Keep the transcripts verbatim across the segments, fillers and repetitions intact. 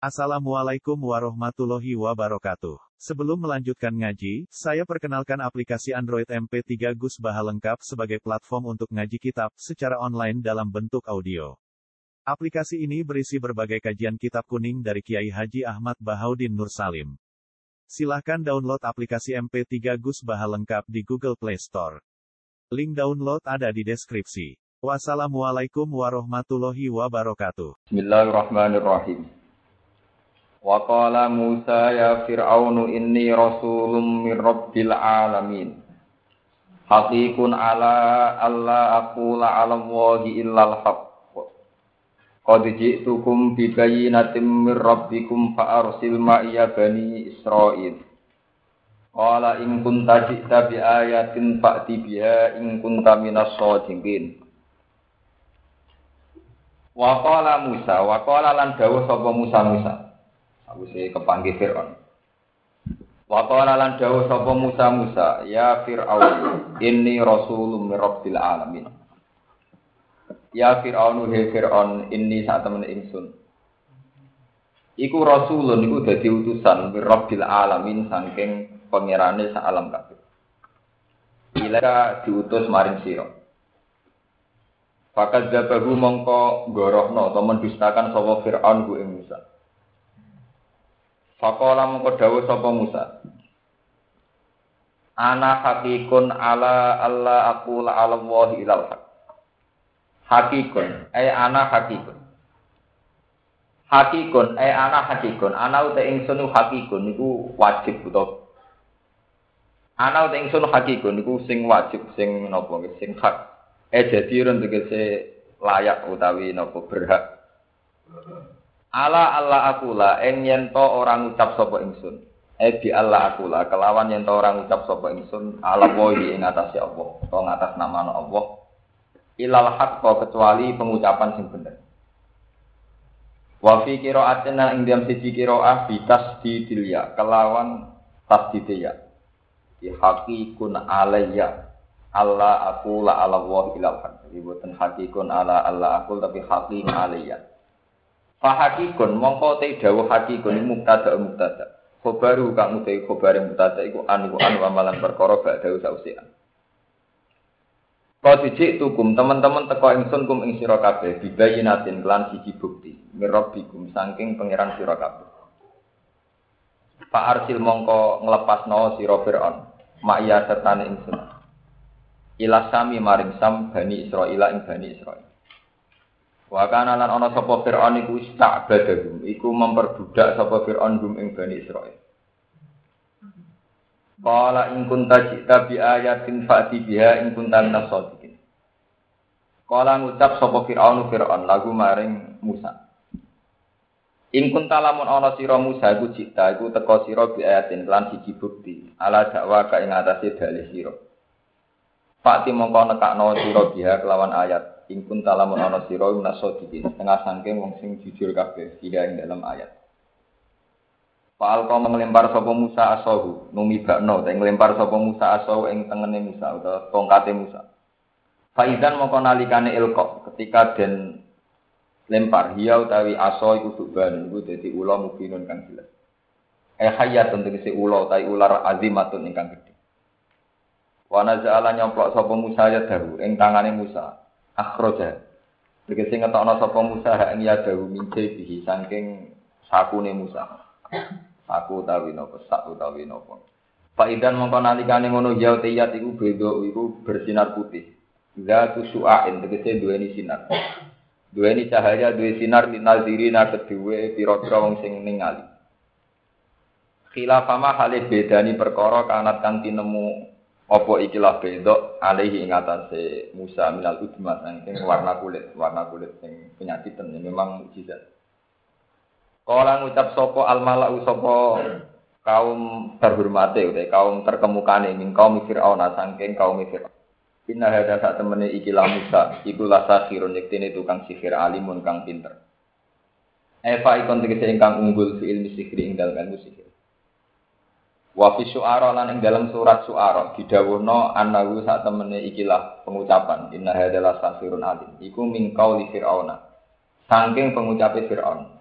Assalamualaikum warahmatullahi wabarakatuh. Sebelum melanjutkan ngaji, saya perkenalkan aplikasi Android M P tiga Gus Baha lengkap sebagai platform untuk ngaji kitab secara online dalam bentuk audio. Aplikasi ini berisi berbagai kajian kitab kuning dari Kiai Haji Ahmad Bahaudin Nur Salim. Silahkan download aplikasi M P tiga Gus Baha lengkap di Google Play Store. Link download ada di deskripsi. Wassalamualaikum warahmatullahi wabarakatuh. Bismillahirrahmanirrahim. Wa qala Musa ya Fir'aunu inni rasulun min rabbil alamin. Haqiqun ala alla aqula 'ala Allahi illal haqq. Qad ji'tukum bi bayyinatin min rabbikum fa arsil ma'iya bani Israil. Qala in kunta ji'ta bi ayatin fa'ti biha in kunta minas shadiqin. Wa qala Musa wa qala lan dawuh sapa Musa Musa Awise kepanggih Fir'aun. Wa qala lan dawuh sapa Musa Musa, ya Fir'aun, inni rasulun min rabbil alamin. Ya Fir'aun, he Fir'aun, inni sak temene ingsun. Iku rasulun iku dadi utusan min rabbil alamin saking pangerane sak alam kabeh. Ila diutus maring sira. Fakat jabahu mongko gorohno atau mendustakan sapa Fir'aun ku ing Musa. Faqala mongko dawuh sapa Musa. Ana haqiqun ala alla aqula 'ala Allahi ilal haq. Haqiqun ay ana haqiqun. Haqiqun ay ana haqiqun. Ana uta ingsun haqiqun niku wajib utawa ana uta ingsun haqiqun niku sing wajib sing napa sing hak. Eh jadi ron tegese layak utawi napa berhak. Ala Allah akula en yen to orang ngucap sapa ingsun. Eh bi Allah akula kelawan yen to orang ngucap sapa ingsun ala wahi ing atase Allah, to ngatas nama Allah. Ilal haq kecuali pengucapan sing bener. Wa fi qira'atina ing dalam siji qira'ah bi tasdidil ya kelawan tasdidil ya. Di haqiqun alayya Allah akula ala wahi ilal haq. Jadi boten haqiqun ala Allah akul tapi haqiqun alayya. Fahakikun mongko te dawuh hakikun mubtada mubtada. Khobaru kang utai khobar mubtada iku an iku an amalan perkara gak dawuh sausian. Kau dijik tukum teman-teman teko ingsun kum ing sira kabeh bibayinatin kelan siji bukti mirabbikum saking pangeran sira kabeh. Fa arsil mongko nglepasno sira Firaun ma'ya sertane ingsun. Ila sami maring sam bani Israil ing bani Israil. Wa kana lan ana sapa Fir'aun iku istabadahum iku memperbudak sapa Fir'aun gum ing Bani Israil. Qala in kunta ji'ta bi ayatin fa'ti biha in kunta minas shadiqin. Qala ngucap sapa Fir'aun Fir'aun lagu maring Musa. In kunta lamun ana sira Musa iku ji'ta iku teka sira bi ayatin lan siji bukti ala dakwa ka ing atase dalih sira. Fa'ti mongko nekakno sira biha kelawan ayat ingkun talamun ana sira minasodikin setengah saking wong sing jujur kabeh sira ing dalam ayat. Fa'al kau nglempar sapa Musa asahu numibakno ta nglempar sapa Musa asahu ing tengene Musa utawa tongkate Musa. Faidan mongko nalikane ilqa ketika den lempar hiya utawi asa iku suban iku dadi ula mubinun kang jelas. Eh hayatun tegese ula utawi ular azimatun ingkang gedhe. Wa naza'ala nyoplok sapa Musa ya dahu ing tangane Musa. Akhroja. Tegese ngetokno sapa Musa hak ing yadahu mince bihi saking sakune Musa. Saku utawi napa sak utawi napa. Faidan mongko nalikane ngono ya tiyat iku beda iku bersinar putih. Zatu su'ain tegese duweni sinar. Duweni cahaya duwe sinar linazirina kedue pira-pira wong sing ningali. Khilafama hale bedani perkara kanat kang tinemu apa ikilah bedok alaihi ing atase Musa minal udma saking warna kulit, warna kulit sing penyakitan ya memang mukjizat. Kala ngucap sapa al-mala'u sapa kaum terhormate utawa kaum terkemukane ing kaum Firaun saking kaum Firaun. Inna hadza sak temene ikilah Musa iku lasakhirun yektene tukang sihir alimun kang pinter. Eva ikon tegese ingkang unggul fi ilmi sihir ing dalem ilmu sihir. Wa fi syu'ara lan ing dalam surat syu'ara didhawuhna annahu sak temene ikilah pengucapan inna hadzal safirun alim iku min qauli fir'auna saking pengucape Fir'aun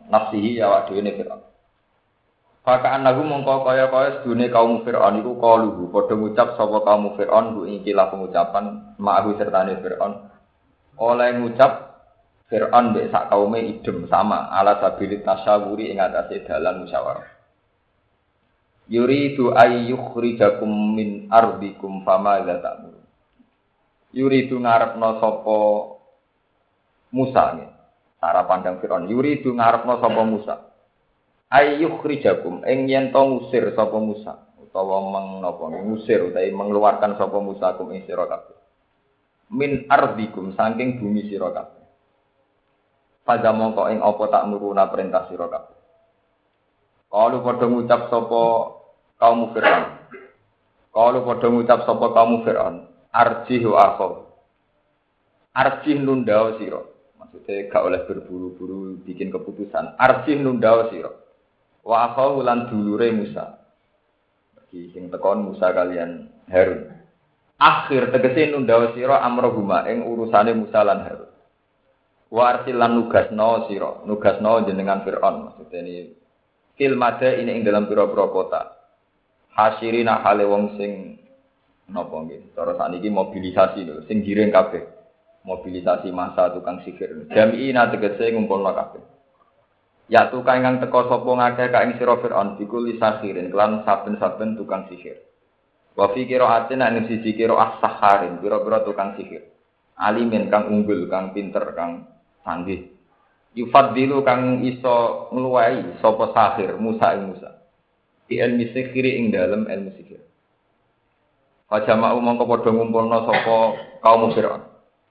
nafsihi ya wa dhewe Fir'aun. Fakaan lagu mongko kaya-kaya sedune kaum Fir'aun iku qaluhu padha ngucap sapa kaum Fir'aun ku ikilah pengucapan ma'ahu sertane Fir'aun. Oleh ngucap Fir'aun mbek sak kaume idem sama ala sabilit tasyawuri ing atase dalan musyawarah. Yuridu ayyukhrijakum min ardikum fama la ta'mur. Yuridu ngarepno sapa Musa nggih. Cara pandang Fir'aun, yuridu ngarepno sapa Musa. Ayyukhrijakum ing yen to ngusir sapa Musa utawa menapa ngusir utawa mengeluarkan sapa Musa kum ing sira kabeh. Min ardikum saking bumi sira kabeh. Pada mongko ing apa tak nuruna perintah sira kabeh. Kalau padha ngucap sapa kaum Fir'aun. Kalau padha ngucap sapa kaum Fir'aun, arjih wa akhau. Arjih nundao sira. Maksudnya gak oleh berburu-buru bikin keputusan. Arjih nundao sira. Wa akhau lan dulure Musa. Bagi sing tekon Musa kalian Harun. Akhir tegese nundao sira amrohuma ing urusane Musa lan Harun. Wa arsilan nugasno sira, nugasno jenengan Fir'aun. Maksudnya ini fil mada ini ing dalam pira-pira kota. Hasyirina hale wong sing napa nggih. Cara sakniki mobilisasi lho, sing giring kabeh. Mobilisasi massa tukang sihir. Jami'ina tegese ngumpulna kabeh. Ya tukang ingkang teka sapa ngakeh ka ing sira Fir'aun dikuli sahirin kelan saben-saben tukang sihir. Wa fi qira'atin ana siji qira'ah saharin, pira-pira tukang sihir. Alimin kang unggul, kang pinter, kang sanggih. Yufaddilu kang iso ngluwahi sapa sahir Musa ing Musa. Di ilmu sihir ing dalem ilmu sihir. Fajama'u mongko padha ngumpulna sapa kaum Fir'aun.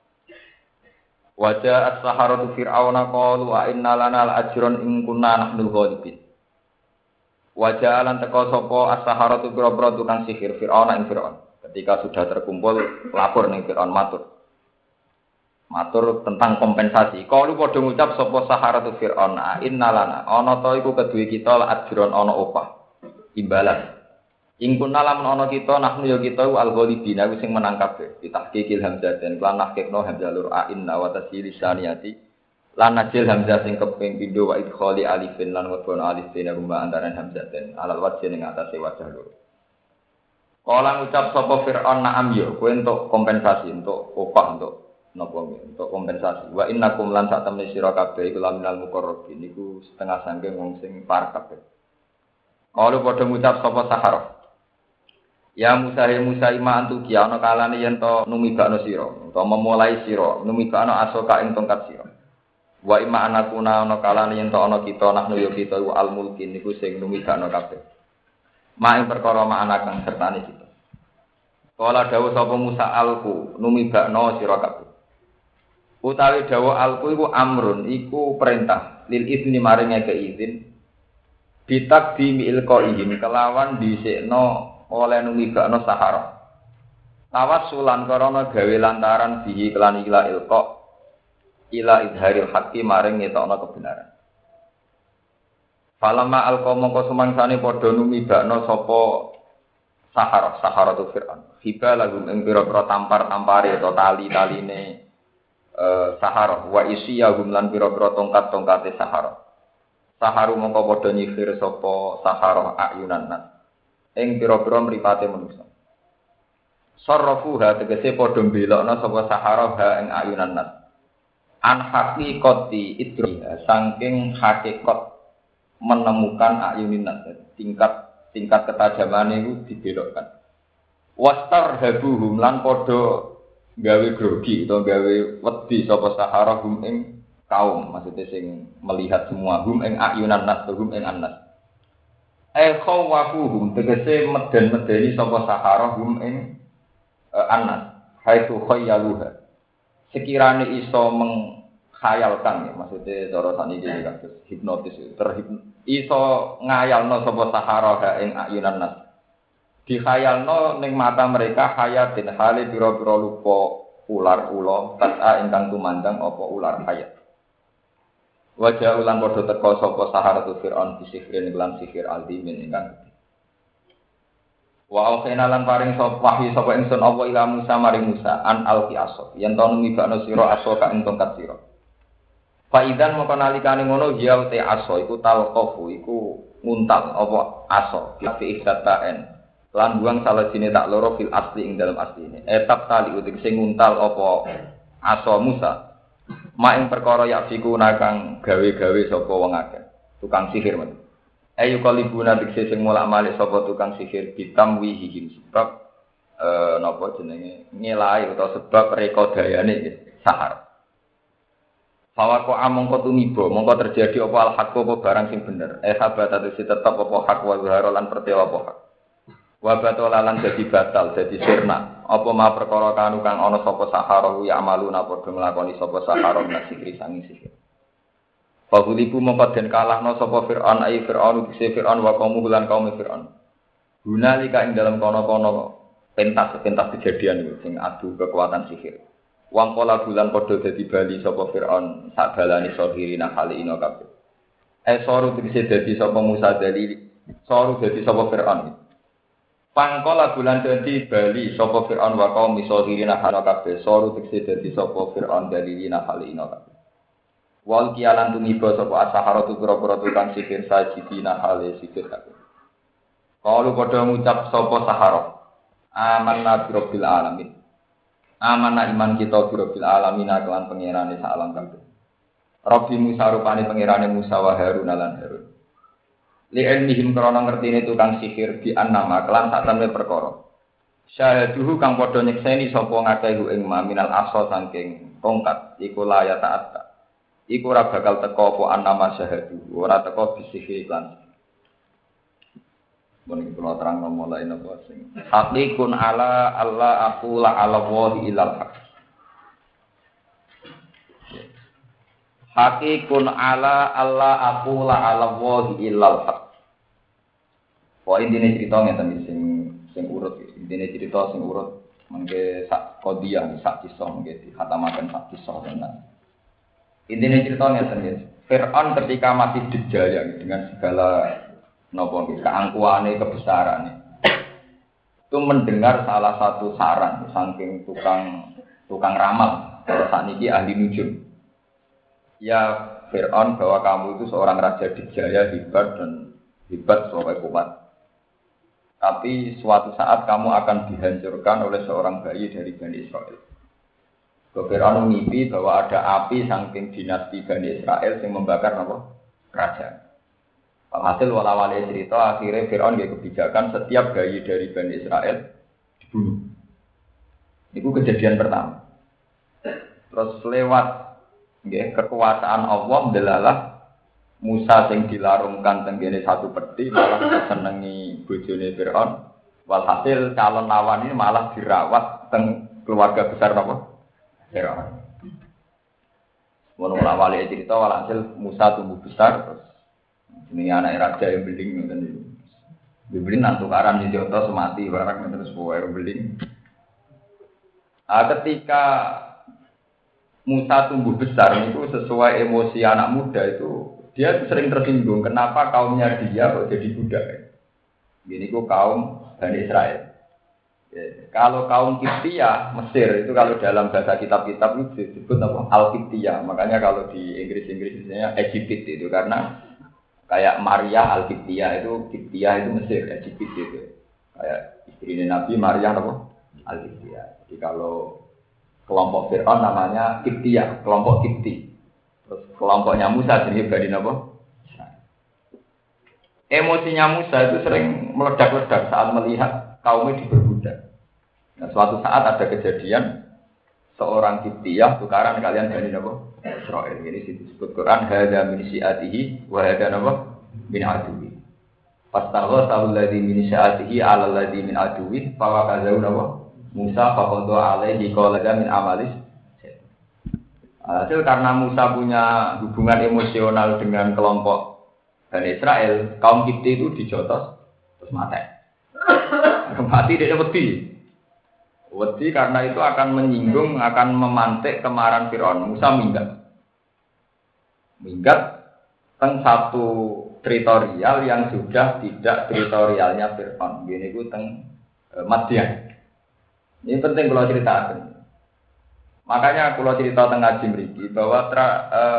Wajah as-saharatu fir'auna qalu wa inna lana al-ajran in kunna nahnul ghalibin. Wajah lan teka sapa as-saharatu pira-pira tukang sihir Fir'auna ing Fir'aun. Ketika sudah terkumpul lapor ning Fir'aun matur. Matur tentang kompensasi. Qalu padha ngucap sapa saharatu Fir'aun inna lana ana ta iku keduwe kita al-ajran ana opah. Imbalan. Ing kunna lamun ana kita nahnu ya kita al-ghalibin aku sing menang kabeh. Ditahqiqil hamzah den lan nahqiqno hamzah lur a inna wa tasili saniyati lan najil hamzah sing keping pindho wa idkhali alifin lan wadon alif dene rumah antaran hamzah den alal wajh ning atase wajah lur. Kala ngucap sapa Fir'aun na'am ya kowe entuk kompensasi entuk opah entuk napa entuk kompensasi. Wa innakum lan sak temne sira kabeh iku laminal muqarrabin niku setengah saking wong sing par kabeh. Kala padha ngucap sapa Saharah. Ya Musa ya Musa ima antu ki ana kalane yen to numibakno sira utawa memulai sira numibakno asoka ing tongkat sira wa ima anakuna ana kalane yen to ana kita nahnu ya kita wa al mulkin niku sing numibakno kabeh mak ing perkara mak anak kang sertane kita kala dawuh sapa Musa alku numibakno sira kabeh utawi dawuh alku iku amrun iku perintah lil izni maring ngeke izin bitakdimi ilqaihim kelawan dhisikno oleh numibakno sahara. Tawassulan karana gawe lantaran bihi kelan ila ilqa ila idharil haqqi maring ngetokno kebenaran. Falamma alqa mongko sumangsane padha numibakno sapa sahara, sahara tu Fir'aun. Hiba lahum ing pira-pira tampar-tampare atau tali-taline eh sahara wa isiyahum lan pira-pira tongkat-tongkate sahara. Saharu mongko padha nyifir sapa sahara ayunan nas. Ing pira-pira mripate manusa. Sarrafuha tegese padha mbelokna sapa sahara ha ing ayunan nas. An haqiqati idriha saking hakikat menemukan ayunin nas tingkat tingkat ketajamane iku dibelokkan. Wastarhabuhum lan padha gawe grogi utawa gawe wedi sapa sahara hum ing kaum maksudnya sing melihat semua hum ing ayunan nas hum ing annas. Eh khawafuhum tegese meden-medeni sapa sahara hum ing uh, anas haitsu khayyaluha sekirane iso mengkhayalkan ya maksudnya cara saniki kados hipnotis terhipnotis iso ngayalno sapa sahara ha ing ayunan nas dikhayalno ning mata mereka hayatin hale pira-pira lupa ular ula tata ingkang tumandang apa ular hayat. Wajah ulan padha teka sapa saharatu Fir'aun bisihrin lan sihir aldimin ingkang gedhe. Wa aukhina lan paring sapa wahyu sapa ingsun apa ila Musa maring Musa an alqi asok yen to numibakno sira asoka ing tongkat sira. Faidan mongko nalikane ngono ya te aso iku talqafu iku nguntal apa aso fi ihdatain lan buang salah sini tak loro fil asli ing dalam asline etap tali utik sing nguntal apa aso Musa mak ing perkara ya fiku nakang gawe-gawe sapa wong akeh tukang sihir men ayu kalibuna dikse sing mulak-malik sapa tukang sihir bitamwihihim sebab eh napa jenenge ngelai utawa sebab rekodayane sahar. Fawako among ko tumibo, mongko terjadi apa al-haq apa barang sing bener. Eh sahabat atau si tetap apa hak wa zahara lan pertewa apa hak. Wa batal lan dadi batal, dadi sirna. Apa ma perkara kanu kang ana sapa sahara ya amaluna padha nglakoni sapa sahara lan sikri sangi sihir. Fagulibu mongko den kalahno sapa Firaun ai Firaun bise Firaun wa kaum lan kaum Firaun. Gunalika ing dalam kono-kono pentas pentas kejadian iki sing adu kekuatan sihir. Wang pola bulan podo dadi bali sapa Firaun sak balane sohirina kali ino kabeh. Eh soru dise dadi sapa Musa dalili, soru dadi sapa Firaun. Pangkola bulan dadi bali sapa Firaun wa kaum sohirina kali kabeh, soru dise dadi sapa Firaun dalilina kali ino kabeh. Wal kialan tumiba sapa asharatu pira-pira tukang sihir sajidina kali sihir kabeh. Kalu padha ngucap sapa sahara. Amanna bi rabbil alamin. Amanah iman kita birbil alamin kelan pangerane sak alam kabeh. Rabbi Musa rupane pangerane Musa wa Harun lan Harun. Li ilmihim krana ngertine tukang sihir di annama kelan sak temne perkara. Syahaduhu kang padha nyekseni sapa ngakehu ing maminal asa saking tongkat iku laya taat. Iku ora bakal teka apa annama syahadu, ora teka bisihir lan. Mungkin kalau terang mulai napa sing haqiqun ala Allah aqula ala wahi ilal haq. Haqiqun ala Allah aqula ala wahi ilal haq. Kok intine cerita ngeten sing sing urut intine cerita sing urut mengke sak qadiyah sak kisah mengke dikhatamaken sak kisah tenan. Intine cerita ngeten Firaun ketika masih dijaya dengan segala nopo keangkuhane kebesarannya itu mendengar salah satu saran saking tukang tukang ramal saat ini ahli nujum ya Firaun bahwa kamu itu seorang raja dijaya hebat dan hebat sampai kuat tapi suatu saat kamu akan dihancurkan oleh seorang bayi dari Bani Israel. Firaun mimpi bahwa ada api saking dinasti Bani Israel yang membakar apa kerajaan. Hasil wala-wali cerita akhirnya Firaun dia kebijakan setiap bayi dari Bani Israel dibunuh. Itu kejadian pertama. Terus lewat nggih kekuasaan Allah delalah Musa sing dilarungkan tenggene satu peti malah disenengi bojone Firaun. Walhasil calon lawan ini malah dirawat teng keluarga besar apa? Firaun. Mono wala-wali cerita walhasil Musa tumbuh besar terus ini anak raja yang beling ngoten niku. Beling nang tukaran di Joto semati barang terus pokoke beling. Ah ketika Musa tumbuh besar itu sesuai emosi anak muda itu dia itu sering tersinggung kenapa kaumnya dia kok jadi budak. Gini ku kaum Bani Israel. Ya, kalau kaum Kiptia Mesir itu kalau dalam bahasa kitab-kitab itu disebut apa Al-Kiptia. Makanya kalau di Inggris-Inggris misalnya Egypt itu karena kayak Maria Al-Kiptia itu Kiptia itu Mesir, Egypt itu. Kayak istrinya Nabi Maria apa? Al-Kiptia. Jadi kalau kelompok Firaun namanya Kiptia, kelompok Kipti. Terus kelompoknya Musa jadi Bani apa? Emosinya Musa itu sering meledak-ledak saat melihat kaumnya diperbudak. Nah, suatu saat ada kejadian seorang Kiptiyah tukaran kalian Bani apa? Israel. Ini disebut Quran hadza min syi'atihi wa hadza apa? Min aduwi. Fastagha alladzi min syi'atihi 'ala alladzi min aduwi fa waqazahu apa? Musa faqada alaihi qala min amalis. Hasil karena Musa punya hubungan emosional dengan kelompok Bani Israel, kaum Kipti itu dijotos terus mati. Mati dia wedi. Wedi karena itu akan menyinggung, akan memantik kemarahan Firaun. Musa minggat. Minggat teng satu teritorial yang sudah tidak teritorialnya Firaun. Gini ku teng e, Madian. Ini penting kalau ceritakan. Makanya kalau cerita teng ngaji mriki bahwa tra, e,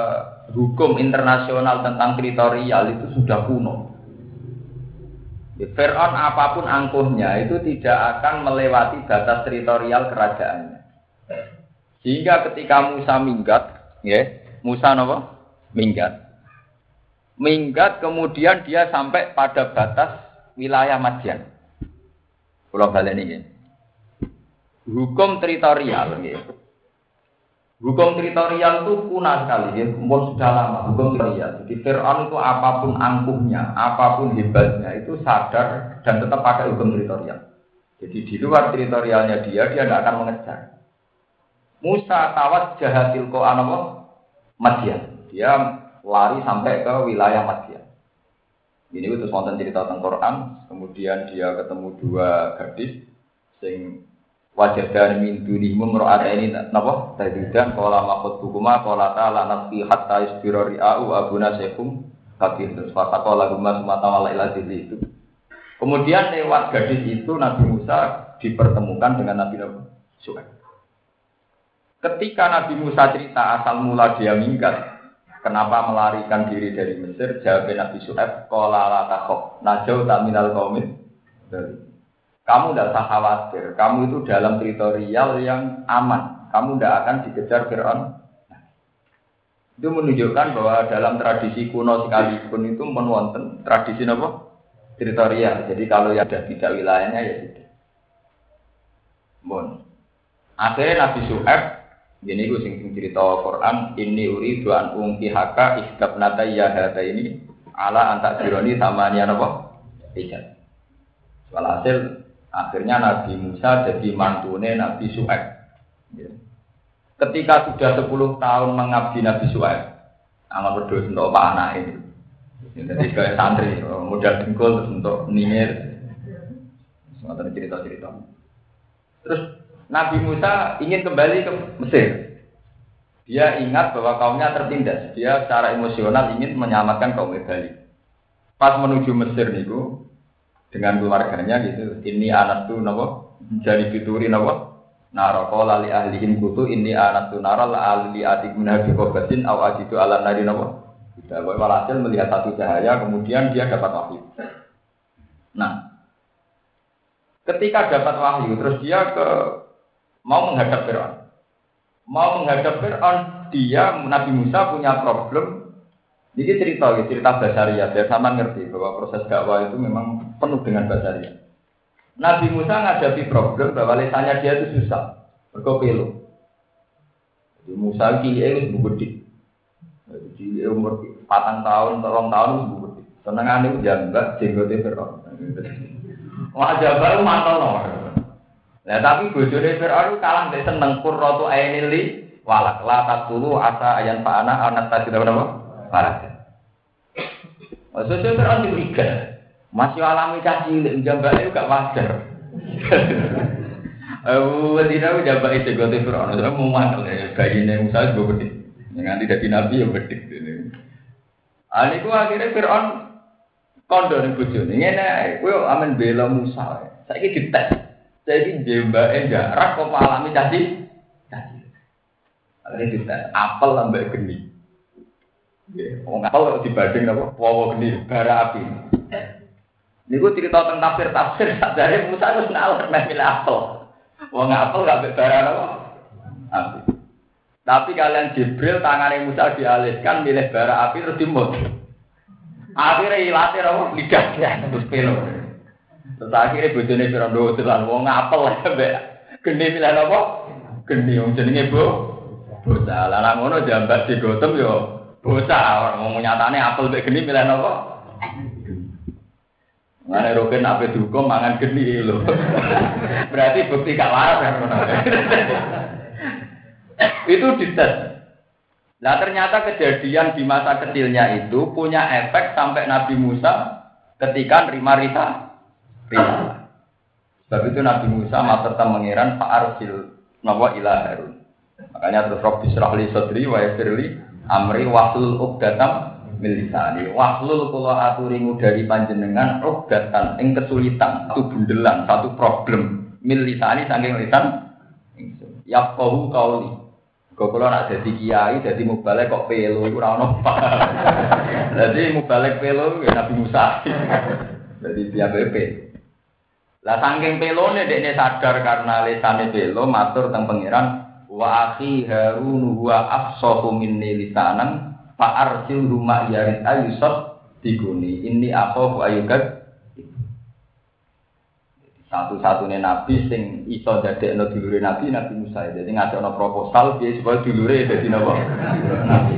hukum internasional tentang teritorial itu sudah kuno. Ya, Fir'aun apapun angkuhnya itu tidak akan melewati batas teritorial kerajaannya. Sehingga ketika Musa minggat, ya, Musa apa? Minggat. Minggat kemudian dia sampai pada batas wilayah Madian. Pulau Balen ini. Hukum teritorial, ya. Hukum teritorial itu kuno sekali, ya. Umur sudah lama hukum teritorial. Jadi Fir'aun itu apapun angkuhnya, apapun hebatnya itu sadar dan tetap pakai hukum teritorial. Jadi di luar teritorialnya dia, dia tidak akan mengejar. Musa tawat jahatil ko'an apa? Madian. Dia lari sampai ke wilayah Madian. Ini itu wonten cerita tentang Quran. Kemudian dia ketemu dua gadis sing wajadan min dunihim mura'ataini napa tajidan qala maqtuhuma qala ta'ala nafsi hatta isbira ri'u abuna syekhum kabir terus faqala gumma sumata wala ila itu. Kemudian lewat gadis itu Nabi Musa dipertemukan dengan Nabi Syuaib. Ketika Nabi Musa cerita asal mula dia minggat, kenapa melarikan diri dari Mesir, jawab Nabi Syuaib qala la takhaf najau ta minal qaumin. Kamu tidak usah khawatir, kamu itu dalam teritorial yang aman. Kamu tidak akan dikejar Fir'aun. Itu menunjukkan bahwa dalam tradisi kuno sekalipun itu menwonten tradisi apa? Teritorial. Jadi kalau yang ada tidak wilayahnya ya tidak. Bon. Akhirnya Nabi Syuaib, ini gue sing cerita Quran, ini uridu an ungkihaka istabnata yahata ini ala antak jironi samanya apa? Ijaz. Walhasil akhirnya Nabi Musa jadi mantune Nabi Syuaib. Ketika sudah sepuluh tahun mengabdi Nabi Syuaib, amal berdoa untuk Pak anak ini. Jadi kayak santri, modal dengkul terus untuk ningir. Semua cerita-cerita. Terus Nabi Musa ingin kembali ke Mesir. Dia ingat bahwa kaumnya tertindas. Dia secara emosional ingin menyelamatkan kaum Bali. Pas menuju Mesir niku dengan keluarganya gitu, ini anak tuh nopo jadi fituri nopo naroko lali ahlihin kutu ini anak tuh naral ahli adik menabi kobatin aw ajitu ala nari nopo tidak boleh walhasil melihat satu cahaya kemudian dia dapat wahyu. Nah ketika dapat wahyu terus dia ke mau menghadap Fir'aun mau menghadap Fir'aun dia Nabi Musa punya problem. Ini cerita, cerita Basaria. Biar sama ngerti bahwa proses dakwah itu memang penuh dengan Basaria. Nabi Musa menghadapi problem bahwa lisannya dia itu susah, berkopelo. Musa kiai itu gede, jadi umur patang tahun, tolong tahun itu gede. Senengan itu jambak, jenggotnya Fir'aun. Wajah baru mantel nomor. Nah tapi bojone Fir'aun kalah dari seneng kurrotu ainili walak latat dulu asa ayan paana anak tadi apa? Parah. Maksudnya Fir'aun diberikan masih alami caci jambak itu gak wajar. Oh, tidak jambak itu gote Fir'aun. Saya mau mantel ya, bayinya Musa juga gede. Yang nanti jadi nabi ya gede. Ani ku akhirnya Fir'aun kondo nih bojone. Ngene, kowe amen bela Musa. Saiki dites. Saiki jambake jarak kok alami caci. Caci. Akhirnya dites apel ambek geni. Nggih, wong apel dibanding napa? Wawa geni bara api. Niku cerita tentang tafsir-tafsir sadare Musa wis nalek meh milih apel. Wong apel gak mbek bara napa? Api. Tapi kalian Jibril tangane Musa dialihkan milih bara api terus dimut. Akhire ilate napa? Lidahnya terus pelo. Terus akhire bojone Fir'aun dolan wong apel mbek geni milih napa? Geni wong jenenge Bu. Bocah lah ngono jambat digotem yo bocah orang mau nyatane apel mbek geni milih napa? Ngene roken ape dihukum mangan geni lho. Berarti bukti gak waras kan ngono. Itu dites. Nah ternyata kejadian di masa kecilnya itu punya efek sampai Nabi Musa ketika nerima rita. Rita. Sebab itu Nabi Musa materta mengiran fa'arsil nawa ila Harun. Makanya terus Rabbi syrah li sadri wa yassir li amri wahlul uqdatam min lisani. Wahlul kula aturi ngudari panjenengan uqdatan ing kesulitan, satu bundelan, satu problem min lisani saking lisan ingsun. Yaqahu qauli. Kok kalau nak jadi kiai, jadi mubalek kok pelo, itu ora-ora. Jadi mubalek pelo, ya Nabi Musa. Jadi dia B P. Lah saking pelone dekne sadar karena lesane pelo, matur teng pangeran, wa akhi Harun huwa afsahu minni lisanan, fa arsilhu ma yarid ayusat diguni. Ini akhafu ayukat. Satu-satunya nabi sing iso dadekno dulure nabi Nabi Musa. Jadi ngajakno proposal piye supaya dulure dadi napa? Nabi.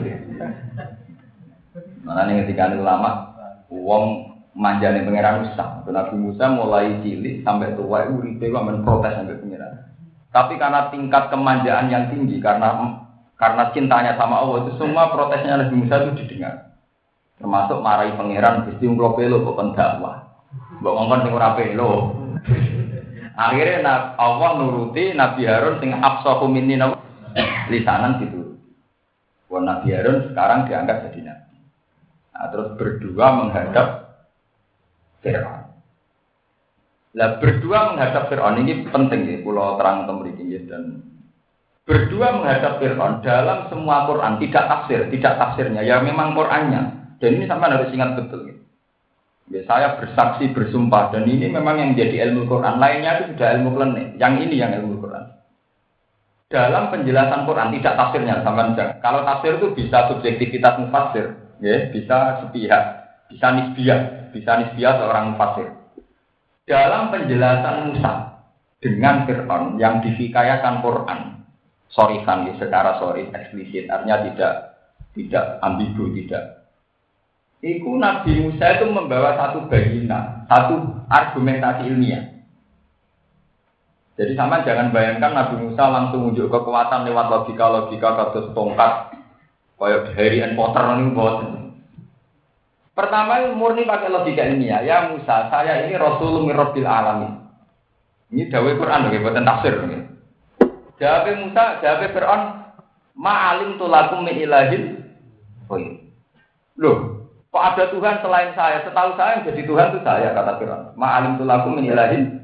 Mana ning ketika ulama wong manjane pangeran Musa. Nabi Musa mulai cilik sampai tua itu uripe kok men protes sampai pangeran. Tapi karena tingkat kemanjaan yang tinggi karena karena cintanya sama Allah itu semua protesnya Nabi Musa itu didengar. Termasuk marahi pangeran Gusti kula pelo kok pendakwah. Mbok ngongkon sing ora pelo. Akhirnya Allah nuruti Nabi Harun sing afsahu minni lisanan gitu. Wah Nabi Harun sekarang diangkat jadi nabi. Nah, terus berdua menghadap Fir'aun. Lah berdua menghadap Fir'aun ini penting ya, pulau terang temriki dan berdua menghadap Fir'aun dalam semua Quran tidak tafsir, tidak tafsirnya ya memang Qurannya. Dan ini sampai harus ingat betul. Gitu. Ya, saya bersaksi bersumpah dan ini memang yang menjadi ilmu Quran. Lainnya itu sudah ilmu klenik. Yang ini yang ilmu Quran. Dalam penjelasan Quran tidak tafsirnya sama saja. Kalau tafsir itu bisa subjektivitas mufassir, ya, bisa sepihak, bisa nisbiyah, bisa nisbiyah seorang mufassir. Dalam penjelasan Musa dengan Fir'aun yang dihikayakan Quran, sorifan ya, secara sorif eksplisit, artinya tidak tidak ambigu, tidak. Iku Nabi Musa itu membawa satu bayina, satu argumentasi ilmiah. Jadi sama jangan bayangkan Nabi Musa langsung unjuk kekuatan lewat logika-logika kados tongkat, kayak Harry and Potter ini buat. Pertama murni pakai logika ilmiah. Ya Musa, saya ini Rasulun min Rabbil Alamin. Ini dawuh Quran lho, buatan tafsir. Jawab Musa, jawab Fir'aun, ma'alim tulakum min ilahin. Oh iya. Loh. Kok ada Tuhan selain saya? Setahu saya yang jadi Tuhan itu saya, kata Fir'aun. Ma'alim tulakum min ilahin.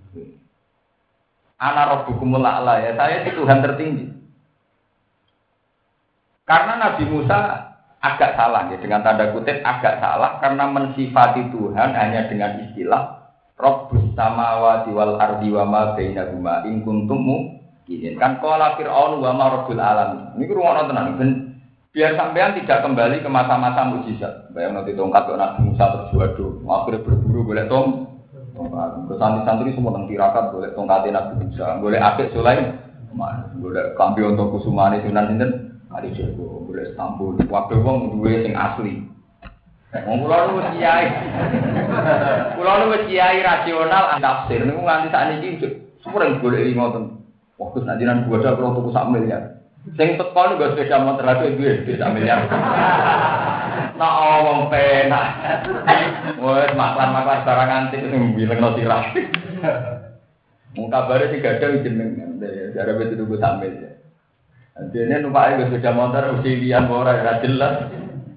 Ana rabbukumul a'la, ya saya itu Tuhan tertinggi. Karena Nabi Musa agak salah ya, dengan tanda kutip agak salah karena mensifati Tuhan hanya dengan istilah Rabbus samawati wal ardi wa ma bainahuma in kuntum mu'minin. Kan qala Fir'aun wa ma rabbul alamin. Niku rumono tenan ben biar sampean tidak kembali ke masa-masa mukjizat. Bayang nanti tongkat kok Nabi Musa terus waduh, akhirnya berburu golek tong. Tongkat. Santri-santri semua nang tirakat golek tongkate Nabi Musa, golek apik Sulaim. Golek kambi untuk kusumane Sunan sinten? Kali Jago, golek Istanbul. Waduh wong duwe sing asli. Wong kula nu kiai. Kula nu kiai rasional tafsir niku nganti sakniki sering golek ngoten. Wah, Gus najinan gua ada kula tuku sak miliar. Sing teko niku sepeda motor lagi duwe sak miliar. Nah, wong penak. Wes maklan-maklan barang antik sing bilengno sirah. Mung kabare sing gadah jeneng jare wis tuku sak miliar. Dene numpake sepeda motor usilian ora ora jelas.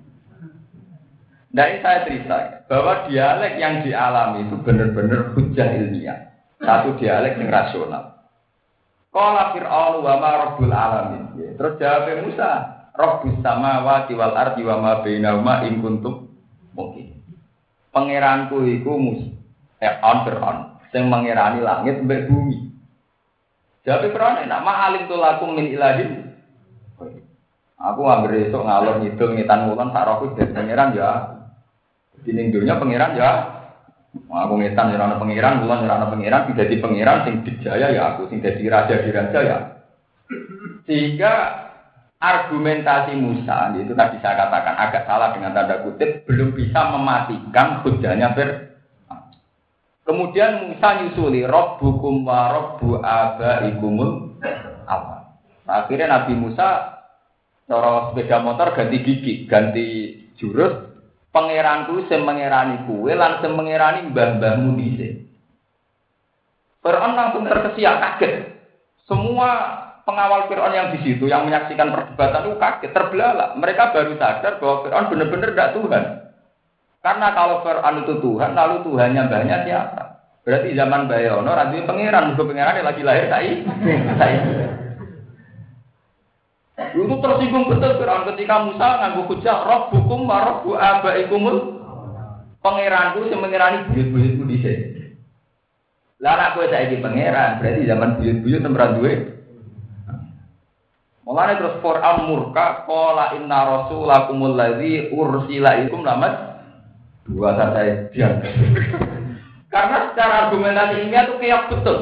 Nah, ini saya cerita bahwa dialek yang dialami itu benar-benar hujah ilmiah. Satu dialek yang rasional. Qala Fir'aun wa ma rabbul alamin. Terus jawab Musa, Rabbus samawati wal ardi wa ma bainahuma in kuntum mungkin. Pangeranku iku Musa, eh on Fir'aun, sing mengerani langit mbek bumi. Jawab Fir'aun nek ma'alim tulakum min ilahin. Aku anggere esuk ngalor ngidul ngitan ngulon sak rohku dadi pangeran ya. Dining dunya pangeran ya. Aku ngetan ora ana pangeran, kula ora ana pangeran, sing dadi pangeran sing dijaya ya aku, sing dadi raja di raja ya. Sehingga argumentasi Musa itu tadi saya katakan agak salah dengan tanda kutip, belum bisa mematikan hujahnya Fir'aun. Kemudian Musa nyusuli rabbukum wa rabbu abaikumul awal. Akhirnya Nabi Musa cara sepeda motor ganti gigi, ganti jurus. Pangeranku sing mengerani kuwe lan sing mengerani mbah-mbahmu dhisik. Fir'aun langsung terkesiap kaget. Semua pengawal Fir'aun yang di situ yang menyaksikan perdebatan itu kaget, terbelalak. Mereka baru sadar bahwa Fir'aun benar-benar tidak Tuhan. Karena kalau Fir'aun itu Tuhan, lalu Tuhannya mbahnya siapa? Berarti zaman Bayono radhi pangeran, musuh pangeran lagi lahir saiki. Saiki. Itu tersinggung betul Fir'aun ketika Musa nganggo hujah rabbukum wa rabbu abaikumul pangeranku sing mengirani buyut-buyutku dhisik. Lah nek kowe saiki pangeran, berarti zaman buyut-buyut tempat duwe. Mulane terus Fir'aun murka qala inna rasulakumul ladzi ursila ikum lamat dua saya diam. Karena secara argumentasi ilmiah itu keok betul.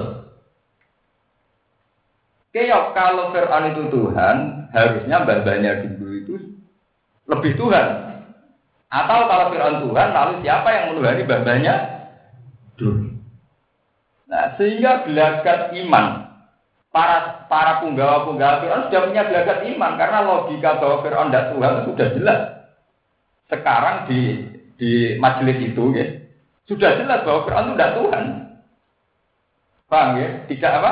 Keok kalau Fir'aun itu Tuhan, harusnya babanya dulu itu lebih Tuhan. Atau kalau Fir'aun Tuhan, lalu siapa yang menuhani babanya dulu? Nah, sehingga gelagat iman para para punggawa-punggawa Fir'aun sudah punya gelagat iman karena logika bahwa Fir'aun tidak Tuhan itu sudah jelas. Sekarang di di majelis itu, ya, sudah jelas bahwa Fir'aun itu tidak Tuhan. Paham ya? Tidak apa?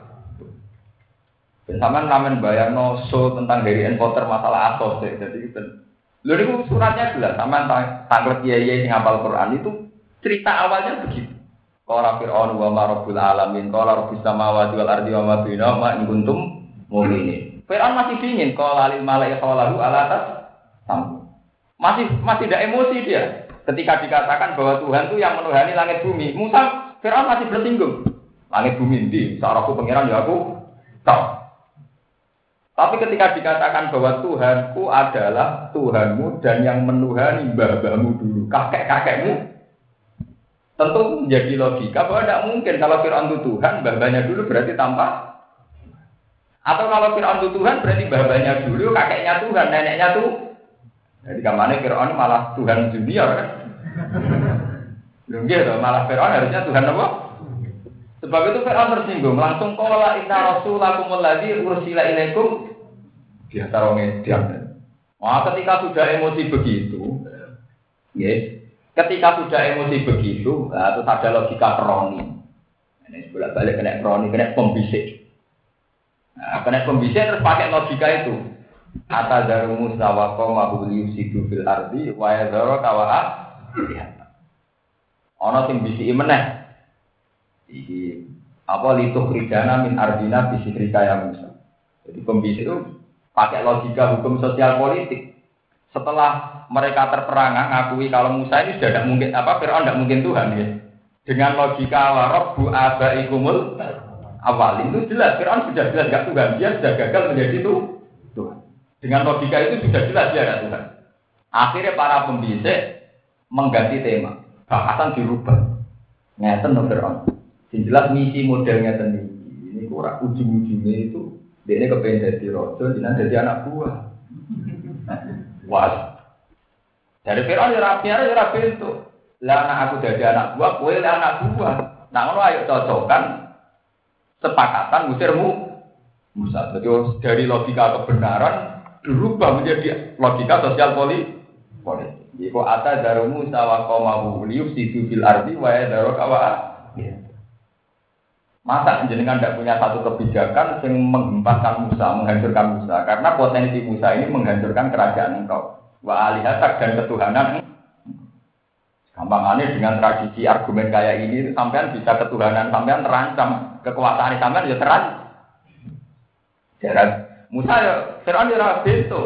Dan sama namen bayangno show tentang Harry and Potter masalah asos ya. Jadi itu, lalu itu suratnya jelas. Sama tanglet kiai yang hafal Quran itu cerita awalnya begitu. Qala Fir'aun wa ma rabbul alamin, qala rabbus samawati wal ardi wa ma bainahuma in kuntum mu'minin. Fir'aun masih dingin, qala lil mala'i qalahu ala tas sam. Masih masih tidak emosi dia ketika dikatakan bahwa Tuhan itu yang menuhani langit bumi. Musa Fir'aun masih bersinggung. Langit bumi ndi? Saraku pangeran ya aku tahu. Tapi ketika dikatakan bahwa Tuhanku adalah Tuhanmu dan yang menuhani mbah-mbahmu dulu, kakek-kakekmu, tentu menjadi logika bahwa tidak mungkin kalau Fir'aun itu Tuhan, mbah-mbahnya dulu berarti tanpa. Atau kalau Fir'aun itu Tuhan berarti mbah-mbahnya dulu, kakeknya Tuhan, neneknya tuh. Jadi kemana Fir'aun malah Tuhan junior kan? Belum gitu, malah Fir'aun harusnya Tuhan apa? Sebab itu Fir'aun tersinggung, langsung qala inna rasulakumul ladzi ursila ilaikum dia taruh ngediam. Wah, ketika sudah emosi begitu, yes, ketika sudah emosi begitu, nah, terus ada logika kroni. Ini bolak balik kena kroni, kena pembisik. Nah, kena pembisik terus pakai logika itu. Kata daru Musa wa qawmahu liyufsidu fil ardi wa yadhara kawa'a. Ana sing bisiki meneh. Iki apa lituk ridana min ardina bisikrika ya Musa. Jadi pembisik itu pakai logika hukum sosial politik. Setelah mereka terperangah ngakui kalau Musa ini sudah tidak mungkin apa Fir'aun tidak mungkin Tuhan ya. Dengan logika wa rabbu abaikumul awal itu jelas Fir'aun sudah jelas enggak Tuhan, dia sudah gagal menjadi itu Tuhan. Dengan logika itu sudah jelas dia enggak Tuhan. Akhirnya para pembisik mengganti tema, bahasan dirubah. Ngeten no Fir'aun. Yang jelas misi modelnya sendiri. Ini kurang ujung-ujungnya itu dia ini kepengen jadi raja, jangan jadi anak buah. Wah, dari Fir'aun ya rapi ya rapi itu. Lah anak aku jadi anak buah, kue lah anak buah. Nah ngono ayo cocokkan sepakatan musirmu Musa. Jadi dari logika kebenaran dirubah menjadi logika sosial politik. Jika ata daru Musa wa qaumahu liyufsidu fil ardi wa yadharu kawa'a. Masa jenengan tidak punya satu kebijakan yang menghempaskan Musa, menghancurkan Musa. Karena potensi Musa ini menghancurkan kerajaan engkau. Wa alihatak dan ketuhanan. Gampangannya dengan tradisi argumen kayak ini, sampean bisa ketuhanan, sampean terancam. Kekuasaan sampean ya terancam. Jarak Musa ya, Fir'aun ya bintu.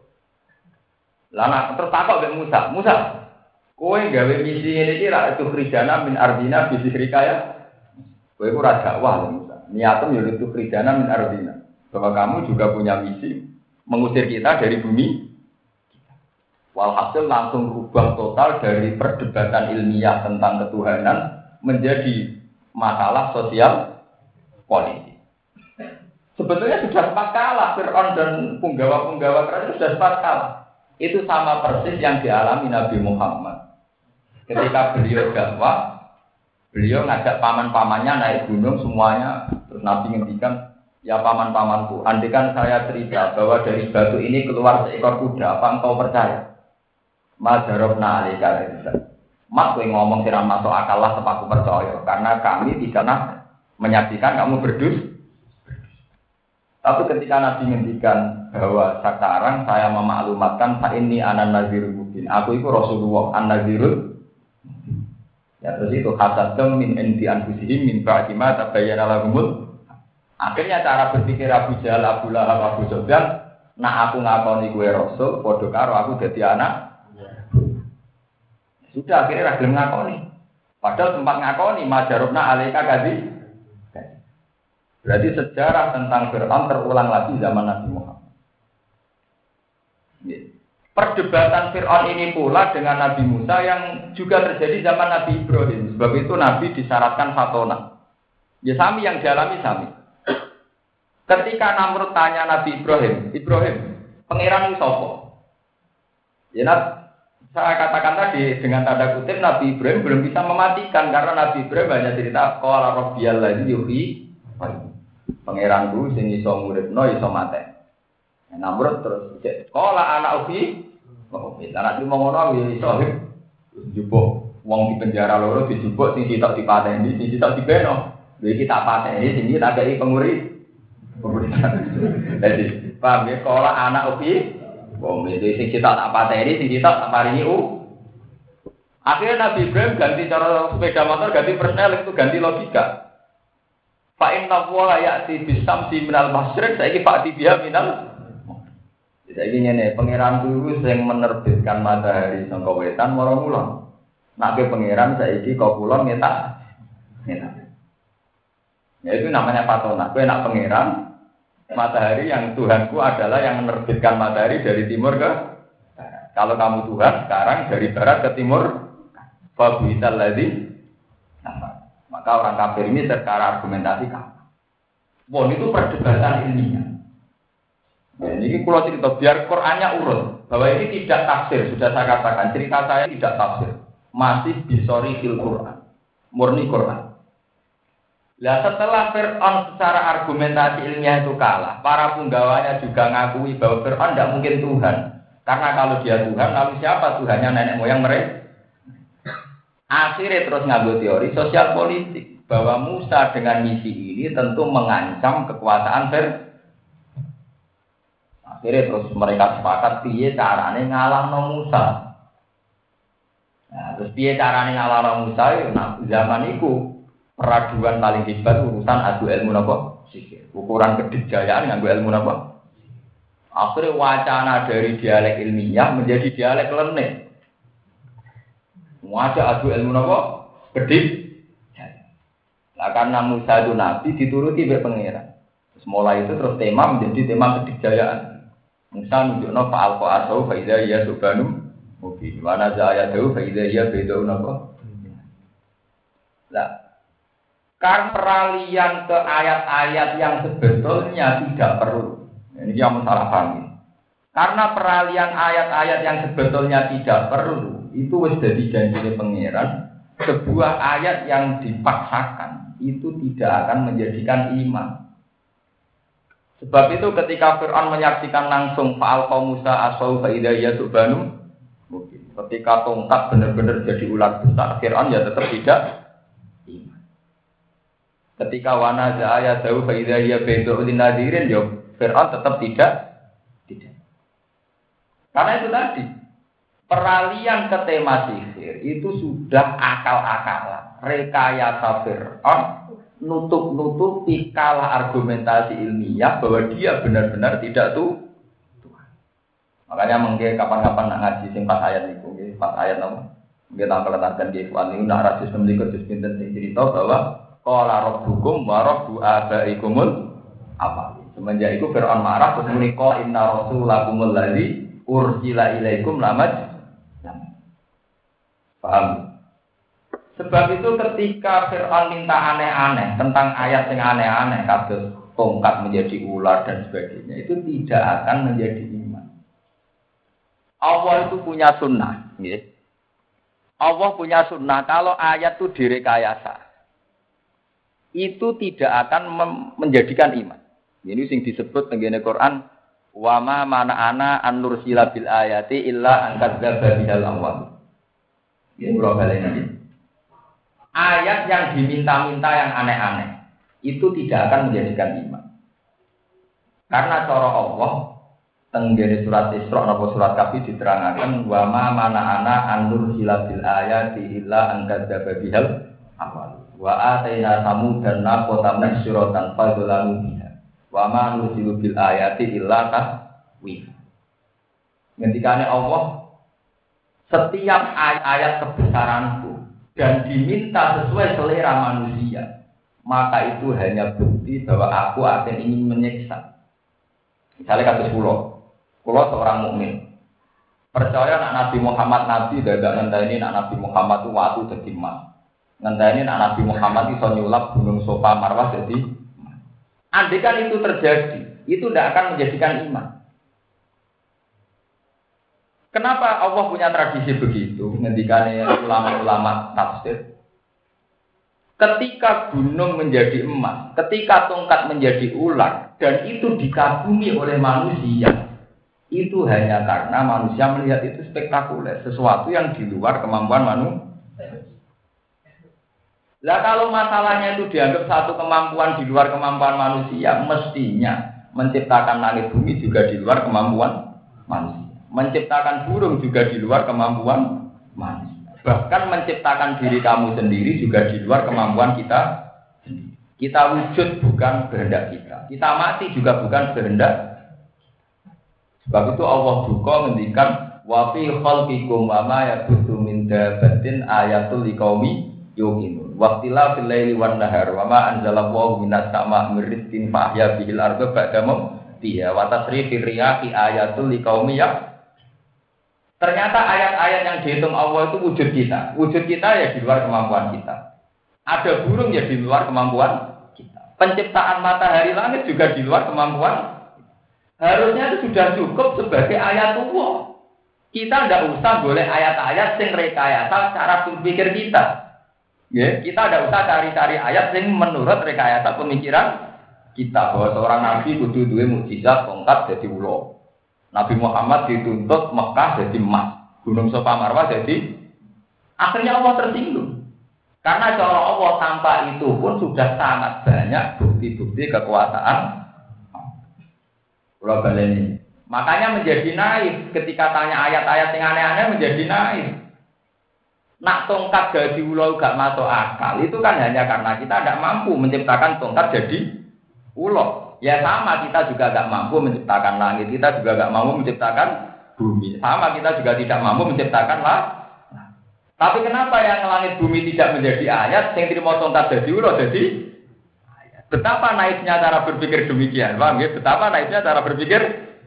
Lalu terus takut dengan Musa. Musa, kowe gawe misi ini kira itu krijana min ardina bisirika ya. Kowe itu raja wah Musa. Niatem ya itu krijana min ardina. Bahwa kamu juga punya misi mengusir kita dari bumi. Walhasil langsung rubah total dari perdebatan ilmiah tentang ketuhanan menjadi masalah sosial politik. Sebetulnya sudah sempat kalah Fir'aun dan punggawa-punggawa kerajaan sudah sempat kalah. Itu sama persis yang dialami Nabi Muhammad. Ketika beliau dakwah, beliau ngajak paman-pamannya naik gunung semuanya, terus Nabi ngendikan, ya paman-pamanku, andikan saya cerita bahwa dari batu ini keluar seekor kuda, apa engkau percaya? Madarobna alika rizal. Mak kowe ngomong sira masuk akal lah sepaku percaya karena kami tidak pernah menyaksikan kamu berdus. Tapi ketika Nabi ngendikan bahwa sekarang saya memaklumatkan fa inni anan nazirul mubin. Aku itu Rasulullah an-nazirul. Ya terus itu hasadum min indi anfusihim min ba'di ma tabayyana lahumul. Akhirnya cara berpikir Abu Jahal, Abu Lahab, Abu Sufyan Nah aku ngakoni gue rasul, padha karo aku dadi anak. Sudah akhirnya ra gelem ngakoni. Padahal sempat ngakoni majarubna alaika kadzi. Berarti sejarah tentang Fir'aun terulang lagi zaman Nabi Muhammad. Perdebatan Fir'aun ini pula dengan Nabi Musa yang juga terjadi zaman Nabi Ibrahim. Sebab itu Nabi disyaratkan fatona. Ya sami yang dialami sami. Ketika Namrud tanya Nabi Ibrahim, Ibrahim, pangeran itu sapa? Ya, saya katakan tadi dengan tanda kutip Nabi Ibrahim belum bisa mematikan karena Nabi Ibrahim hanya cerita qala rabbiyal ladzi yuhyi. Pangeranku sing iso nguripno iso mate. Namrud terus qala ana uhi. Kok anak cuma ngono ya iso njupuk wong di penjara loro dijupuk sing sitok dipateni, sing sitok dibeno. Lha iki tak pateni sing iki tak kei penguri. Jadi, paham ya, kalau anak upi, bom itu sing kita tak pateni, sing kita tak paringi u. Akhirnya Nabi Ibrahim ganti cara sepeda motor, ganti persnel itu ganti logika. Fa inna wa ya'ti bisamsi minal masyriq, saiki Pak Tibia minal. Saiki ngene, pangeran guru sing menerbitkan matahari saka wetan marang kulon. Nek pangeran saiki kok kulon ngetak. Ngetak. Ya itu namanya patona. Kowe nak pangeran matahari yang Tuhanku adalah yang menerbitkan matahari dari timur ke barat. Kalau kamu Tuhan sekarang dari barat ke timur, fabuital ladzi. Maka orang kafir ini secara argumentasi kamu. Bon itu perdebatan ilmiah. Ya, ini kalau cerita biar Qur'annya urut bahwa ini tidak tafsir, sudah saya katakan cerita saya tidak tafsir, masih bisori fil Qur'an, murni Qur'an. Nah setelah Fir'aun secara argumentasi ilmiah itu kalah, para penggawanya juga ngakui bahwa Fir'aun tidak mungkin Tuhan. Karena kalau dia Tuhan, lalu siapa Tuhannya nenek moyang mereka? Akhirnya terus ngambil teori sosial politik bahwa Musa dengan misi ini tentu mengancam kekuasaan Fir'aun. Akhirnya terus mereka sepakat piye carane ngalahno Musa. Nah, terus piye carane ngalahno Musa? Nah, zaman itu peraduan paling hebat urusan adu ilmu napa? Sihir. Ukuran kedikjayaan nganggo ilmu napa? Akhirnya wacana dari dialek ilmiah menjadi dialek lenek. Wajah adu ilmu napa? Kedik. Nah, karena Musa itu nabi dituruti oleh pangeran. Terus mulai itu terus tema menjadi tema kedikjayaan. Musa nunjukno fa'al qa'asau fa idza ya subhanu mubin. Wa nazayatu fa idza ya bidau napa? Lah karena peralihan ke ayat-ayat yang sebetulnya tidak perlu. Ini yang salah paham. Karena peralihan ayat-ayat yang sebetulnya tidak perlu, itu wis dadi janjine pangeran, sebuah ayat yang dipaksakan itu tidak akan menjadikan iman. Sebab itu ketika Fir'aun menyaksikan langsung fa'al qaum Musa asau fa idza yasubanu, mungkin ketika tongkat benar-benar jadi ular besar, Fir'aun ya tetap tidak. Ketika wana zaya tahu faida ya bedo dinadirin yo Fir'aun tetap tidak tidak. Karena itu tadi peralihan ke tema sihir itu sudah akal-akalan, rekayasa Fir'aun nutup-nutupi kalah argumentasi ilmiah bahwa dia benar-benar tidak tuh Tuhan. Makanya mungkin kapan-kapan nak ngaji sing pas ayat niku nggih, pas ayat napa? Nggih tak keletaken nggih wan niku nak rasis memlikur dis pinten sing cerita bahwa qala rabbukum wa rabbu abaikumul apa. Semenjak itu Fir'aun marah terus muni qala inna rasulakumul ladzi ursila ilaikum lamaj. Paham? Sebab itu ketika Fir'aun minta aneh-aneh tentang ayat yang aneh-aneh kados tongkat menjadi ular dan sebagainya, itu tidak akan menjadi iman. Allah itu punya sunnah, ya. Allah punya sunnah kalau ayat itu direkayasa, itu tidak akan menjadikan iman. Ini sing disebut tengene Quran, wa ma mana'ana an nursila bil ayati illa an kadzdzaba bihal awwal. Ini kula baleni. Ayat yang diminta-minta yang aneh-aneh itu tidak akan menjadikan iman. Karena cara Allah tenggene surat Isra napa surat Kahfi diterangkan wa ma mana'ana an nursila bil ayati illa an kadzdzaba bihal awwal. Wa atayna samudan naqata masyuratan fadzalamu biha. Wa ma nursilu bil ayati illa ka wih. Ngendikane Allah, setiap ayat-ayat kebesaranku dan diminta sesuai selera manusia, maka itu hanya bukti bahwa aku akan ingin menyiksa. Misalnya kasus pulau, pulau seorang mukmin percaya nak Nabi Muhammad Nabi dan gak ngenteni nak Nabi Muhammad itu waktu jadi emas. Ngenteni nak Nabi Muhammad itu nyulap gunung Sofa Marwah jadi emas. Andai kan itu terjadi, itu tidak akan menjadikan iman. Kenapa Allah punya tradisi begitu? Ngendikane ulama-ulama tafsir. Ketika gunung menjadi emas, ketika tongkat menjadi ular, dan itu dikagumi oleh manusia, itu hanya karena manusia melihat itu spektakuler, sesuatu yang di luar kemampuan manusia. Lah kalau masalahnya itu dianggap satu kemampuan di luar kemampuan manusia, mestinya menciptakan langit bumi juga di luar kemampuan manusia. Menciptakan burung juga di luar kemampuan manusia. Bahkan menciptakan diri kamu sendiri juga di luar kemampuan kita sendiri. Kita wujud bukan kehendak kita. Kita mati juga bukan kehendak. Sebab itu Allah juga ngendikan wa fi khalqikum wa ma yabuthu min dabatin ayatul liqaumi yuqinun. Waqtila fil laili wan nahar wa ma anzalallahu minas sama'i rizqin fa ahya bihil arda ba'da mawtiha wa tasrifir riyahi ayatul liqaumi ya. Ternyata ayat-ayat yang dihitung Allah itu wujud kita. Wujud kita ya di luar kemampuan kita. Ada burung ya di luar kemampuan kita. Penciptaan matahari langit juga di luar kemampuan. Harusnya itu sudah cukup sebagai ayat Allah. Kita tidak usah boleh ayat-ayat yang rekayasa cara berpikir kita. Ya, kita tidak usah cari-cari ayat yang menurut rekayasa pemikiran kita. Bahwa seorang nabi kudu duwe mukjizat tongkat jadi ulo. Nabi Muhammad dituntut Mekah jadi emas, Gunung Sofa Marwah jadi. Akhirnya Allah tersinggung. Karena cara Allah tanpa itu pun sudah sangat banyak bukti-bukti kekuasaan. Global ini. Makanya menjadi naif ketika tanya ayat-ayat yang aneh-aneh menjadi naif. Nak tongkat jadi ulo gak masuk akal itu kan hanya karena kita tidak mampu menciptakan tongkat jadi ulo. Ya sama, kita juga gak mampu menciptakan langit, kita juga gak mampu menciptakan bumi. Sama, kita juga tidak mampu menciptakan lah. Tapi kenapa yang langit bumi tidak menjadi ayat, yang terima tongkat jadi ulo jadi ayat? Betapa naifnya cara berpikir demikian, paham ya? Betapa naifnya cara berpikir.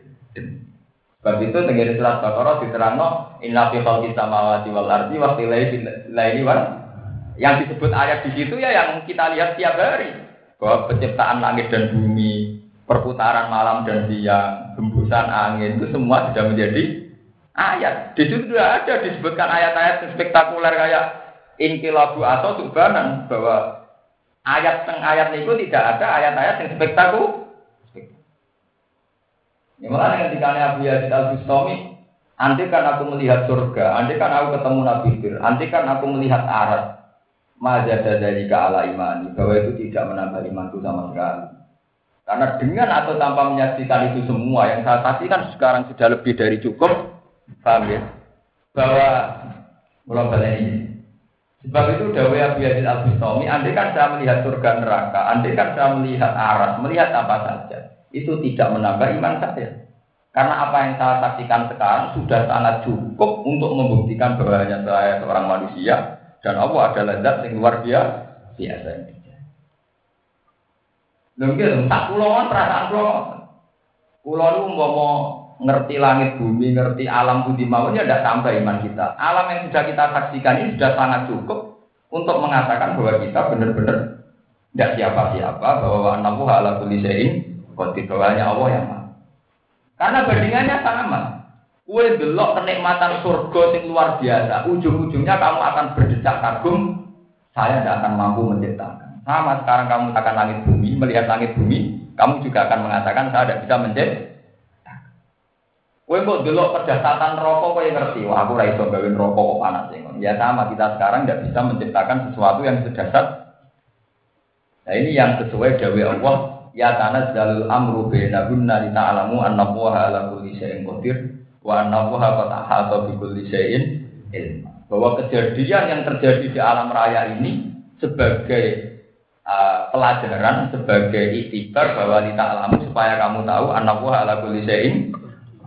Sebab itu tenggiri surat Baqarah diterangno inna fi khalqis samawati wal ardi wa ikhtilafil laili wal. Yang disebut ayat di situ ya yang kita lihat tiap hari. Bahwa penciptaan langit dan bumi, perputaran malam dan siang, hembusan angin itu semua sudah menjadi ayat. Di situ sudah ada disebutkan ayat-ayat yang spektakuler kayak inqilabu atau subhanan, bahwa ayat teng ayat itu tidak ada ayat-ayat yang spektakuler. Ini malah ketika Abu Yazid Al-Bustami, andai kan aku melihat surga, andai kan aku ketemu Nabi Fir, andai kan aku melihat arat. Majada dari keala imani, bahwa itu tidak menambah imanku sama sekali. Karena dengan atau tanpa menyaksikan itu semua yang saya saksikan sekarang sudah lebih dari cukup, paham ya? Bahwa mulai balik ini. Sebab itu dawai Abu Yazid Al-Bustami, andai kan saya melihat surga neraka, andai kan saya melihat aras, melihat apa saja, itu tidak menambah iman saya. Karena apa yang saya saksikan sekarang sudah sangat cukup untuk membuktikan bahwa hanya saya seorang manusia. Dan Allah adalah zat yang luar biasa. Biasa ini. Mungkin tak pulauan perasaan pulau. Pulau itu mau ngerti langit bumi, ngerti alam budi maunya tidak sampai iman kita. Alam yang sudah kita saksikan ini sudah sangat cukup untuk mengatakan bahwa kita benar-benar tidak siapa-siapa, bahwa Allah ala kulli syai'in qadir, bahwa hanya Allah yang maha. Karena bandingannya sama. Kue delok kenikmatan surga yang luar biasa, ujung-ujungnya kamu akan berdecak kagum, saya tidak akan mampu menciptakan. Sama sekarang kamu akan langit bumi, melihat langit bumi, kamu juga akan mengatakan saya tidak bisa menciptakan. Kue kok delok kedahsyatan rokok, kue ngerti, wah aku raiso gawin rokok kok panas. Ya sama, kita sekarang tidak bisa menciptakan sesuatu yang sedasar. Nah ini yang sesuai dawai Allah, ya tanazzalul amru bainahunna li ta'lamu annallaha ala kulli syai'in qadir. Wa annallaha qad ahata bi kulli syai'in ilma. Bahwa kejadian yang terjadi di alam raya ini sebagai uh, pelajaran, sebagai iktibar bahwa li ta'lamu supaya kamu tahu annallaha ala kulli syai'in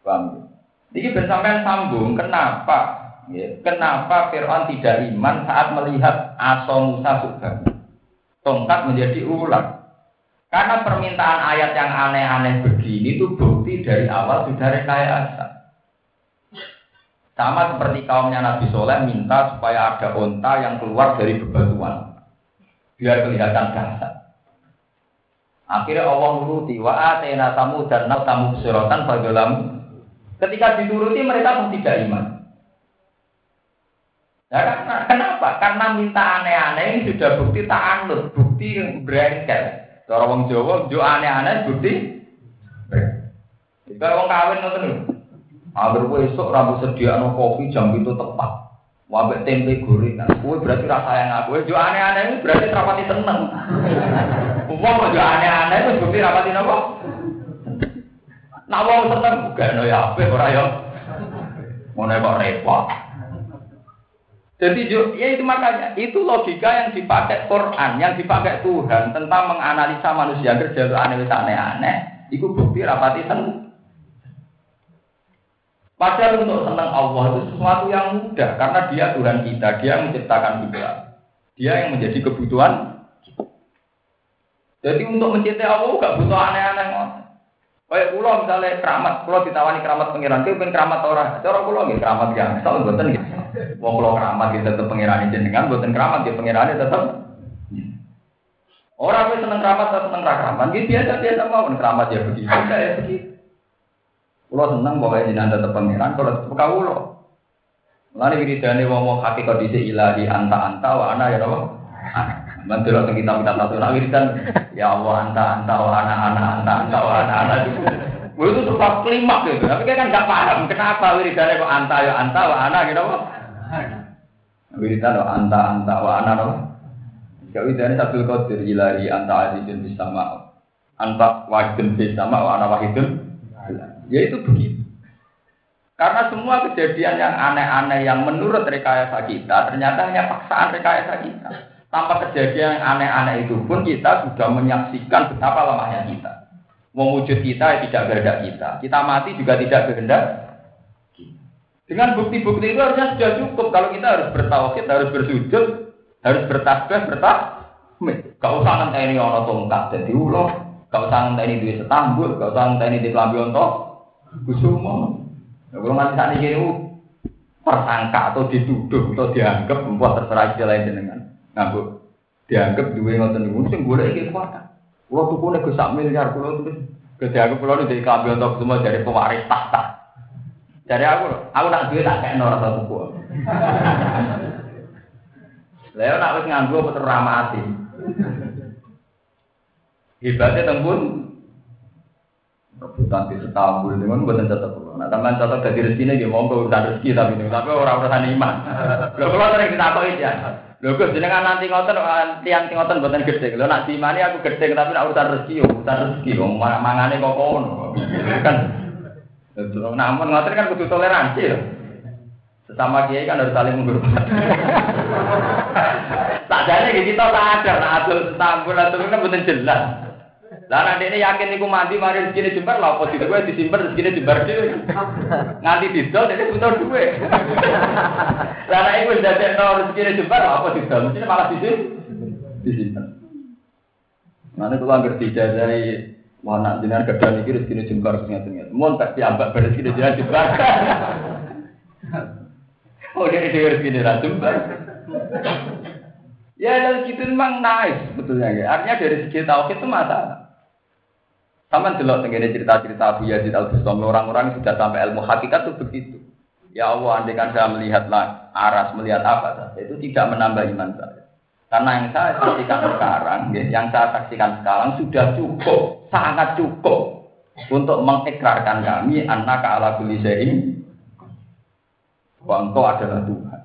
Paham? Ini bersamaan sambung. Kenapa? Ya, kenapa Fir'aun tidak iman saat melihat asa Musa sudah tongkat menjadi ular? Karena permintaan ayat yang aneh-aneh begini itu bukti dari awal sudah rekayasa. Sama seperti kaumnya Nabi Soleh minta supaya ada onta yang keluar dari bebatuan biar kelihatan dahsyat. Akhirnya Allah nuruti wa atena tamu dan nau tamu suratan fadlamu. Ketika dituruti mereka pun tidak iman. Ya, karena, kenapa? Karena minta aneh-aneh ini sudah bukti ta'anut, bukti brengkel. Cara wong Jawa jo aneh-aneh bukti. Jika wong kawin ngoten lho. Agar kowe esuk rambut sediakno kopi jam itu tepat. Wabek tempe gorengan. Kowe berarti ra sayang aku. Jo aneh-aneh itu berarti rapati seneng. Wong jo aneh-aneh itu bukti rapati napa? Nak wong seneng gak ono ya apik ora ya. Ngono kok repot. Jadi ya itu makanya itu logika yang dipakai Quran, yang dipakai Tuhan tentang menganalisa manusia kerja itu aneh-aneh. Itu bukti rapati seneng. Padahal untuk senang Allah itu sesuatu yang mudah karena Dia Tuhan kita, Dia yang menciptakan kita, Dia yang menjadi kebutuhan. Jadi untuk mencintai Allah gak butuh aneh-aneh. Kayak pulau misalnya keramat, pulau ditawani keramat pengiran, itu pengen keramat orang. Cara pulau nggak keramat ya, soal buatan gitu. Wong pulau keramat kita tetap pengiran jenengan, buatan keramat dia pengirannya tetap. Orang yang seneng keramat atau seneng keramat, gitu biasa biasa mau keramat ya begitu, ya begitu. Pulau seneng pokoknya jenengan tetap pengiran, kalau tetap kau pulau. Lalu wiridane wong hakikat dhisik ilahi anta anta wa ana ya napa? Mantul atau kita minta satu nak wiridan ya Allah anta anta wa ana ana anta anta wa ana ana itu sebab klimaks gitu. Tapi kan enggak paham kenapa wiridannya kok anta ya anta wa ana gitu apa? Wiridan wa anta anta wa ana apa? Kalau wiridannya Abdul Qadir ilahi anta azizun bis sama anta wahidun bis sama wa ana wahidun. Ya itu begitu. Karena semua kejadian yang aneh-aneh yang menurut rekayasa kita ternyata hanya paksaan rekayasa kita. Tanpa kejadian yang aneh-aneh itu pun kita sudah menyaksikan betapa lemahnya kita. Mewujud kita tidak kehendak kita. Kita mati juga tidak kehendak kita. Dengan bukti-bukti itu harusnya sudah cukup. Kalau kita harus bertauhid, harus bersujud, harus bertasbih, bertahmid. Gak usah ngenteni ana tongkat dadi ulo, gak usah ngenteni duwe setambul, gak usah ngenteni di klambi onto kusuma. Kalau nanti saat ini tersangka atau dituduh atau dianggap membuat terserah istilah jenengan. Nah, bu, dianggap dua ngoten niku sing golek iki kuat. Kulo tukune go sak miliar kulo terus dianggap kulo dari kabeh untuk semua dari pewaris tahta. Dari aku, aku nak duwe tak kekno rasa tuku. Lah yo nak wis nganggo puter ramati. Hebatnya tembun rebutan di setambul dengan buatan catat pulau. Nah, teman catat dari rezekinya dia mau urusan rezeki tapi ini, tapi orang urusan iman. Lo kalau sering kita tahu ya. Lo gus jenengan nanti ngotot, tiang ngotot buatan gede. Lo nak dimani aku gede tapi nak urusan rezeki, urusan rezeki. Om mangane kok kono. Kan. Namun ngotot kan kudu toleransi loh. Sesama kiai kan harus saling menghormati. Tak jadi kita tak ada, nak adul setambul atau kan buatan jelas. Lah nek dene yakin niku mandi mari rezekine jembar lha apa dite kowe disimpen rezekine jembar dhewe. Nganti didol dene butuh duwe. Lah nek iku ndadekno rezekine jembar lha apa didol mesti malah disimpen. Disimpen. Mane kula anggere dijajahi wana jenengan gedhan iki rezekine jembar ngeten-ngeten. Mun tak diambak rezekine jenengan jembar. Oh dene dhewe rezekine ra jembar. Ya dan gitu memang nice sebetulnya ya. Artinya dari segi tauhid itu masalah. Sama delok tengene cerita-cerita Abu Yazid Al-Bustami, orang-orang yang sudah sampai ilmu hakikat itu begitu. Ya Allah, andaikan saya melihatlah aras, melihat apa saja, itu tidak menambah iman saya. Karena yang saya saksikan sekarang, yang saya saksikan sekarang sudah cukup, sangat cukup untuk mengikrarkan kami annaka ala kulli syai'in wa engkau adalah Tuhan.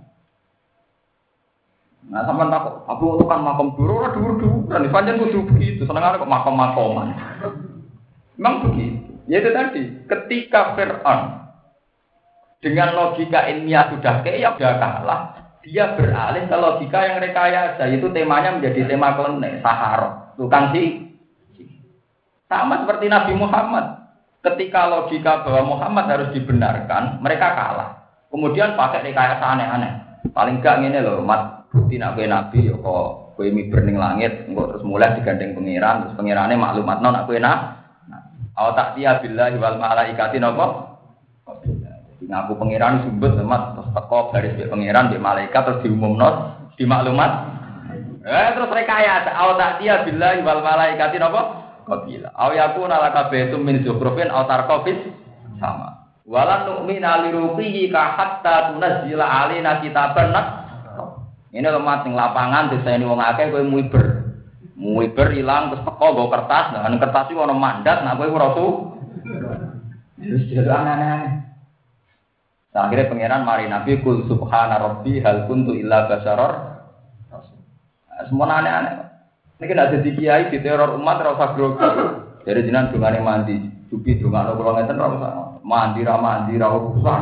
Nah, sama tak aku itu kan makam dulu, ora dulu-dulu, dan panjang kudu begitu, senengane kok makam-makaman. Memang begitu. Ya itu tadi, ketika Fir'aun dengan logika ilmiah sudah kayak sudah kalah, dia beralih ke logika yang rekayasa, itu temanya menjadi tema klenik, sahara, tukang si. Sama seperti Nabi Muhammad. ketika logika bahwa Muhammad harus dibenarkan, mereka kalah. Kemudian pakai rekayasa aneh-aneh. Paling gak ngene lho, mat bukti nak kowe nabi ya kok kowe miber ning langit, engko terus mulai digandeng pangeran, terus pangerane maklumatno nak kowe nak. Aw ta'tiya billahi wal malaikati napa? Jadi ngaku pangeran sumbut mat terus teko baris mbek pangeran mbek malaikat terus diumumno di maklumat. Eh terus rekayasa aw ta'tiya billahi wal malaikati napa? Qabila. Aw yakuna lakabetum min zukhrufin aw tarqafis sama. Walan nu'mina liruqihi ka hatta tunazzila alaina kitaban nak. Ini lemah ning lapangan diseni wong akeh kowe muiber. Muiber ilang terus teko nggo kertas, nah kertas iki ana mandat nak kowe ora su. Wis jadi aneh-aneh. Akhirnya pangeran mari Nabi kul subhana rabbi hal kuntu illa basyarar rasul. Semua aneh-aneh. Niki nek dadi kiai diteror umat ora usah grogi. Jadi jenengan dungane mandi, dupi dungane kula ngeten ora usah. Mandi ra mandi ra usah.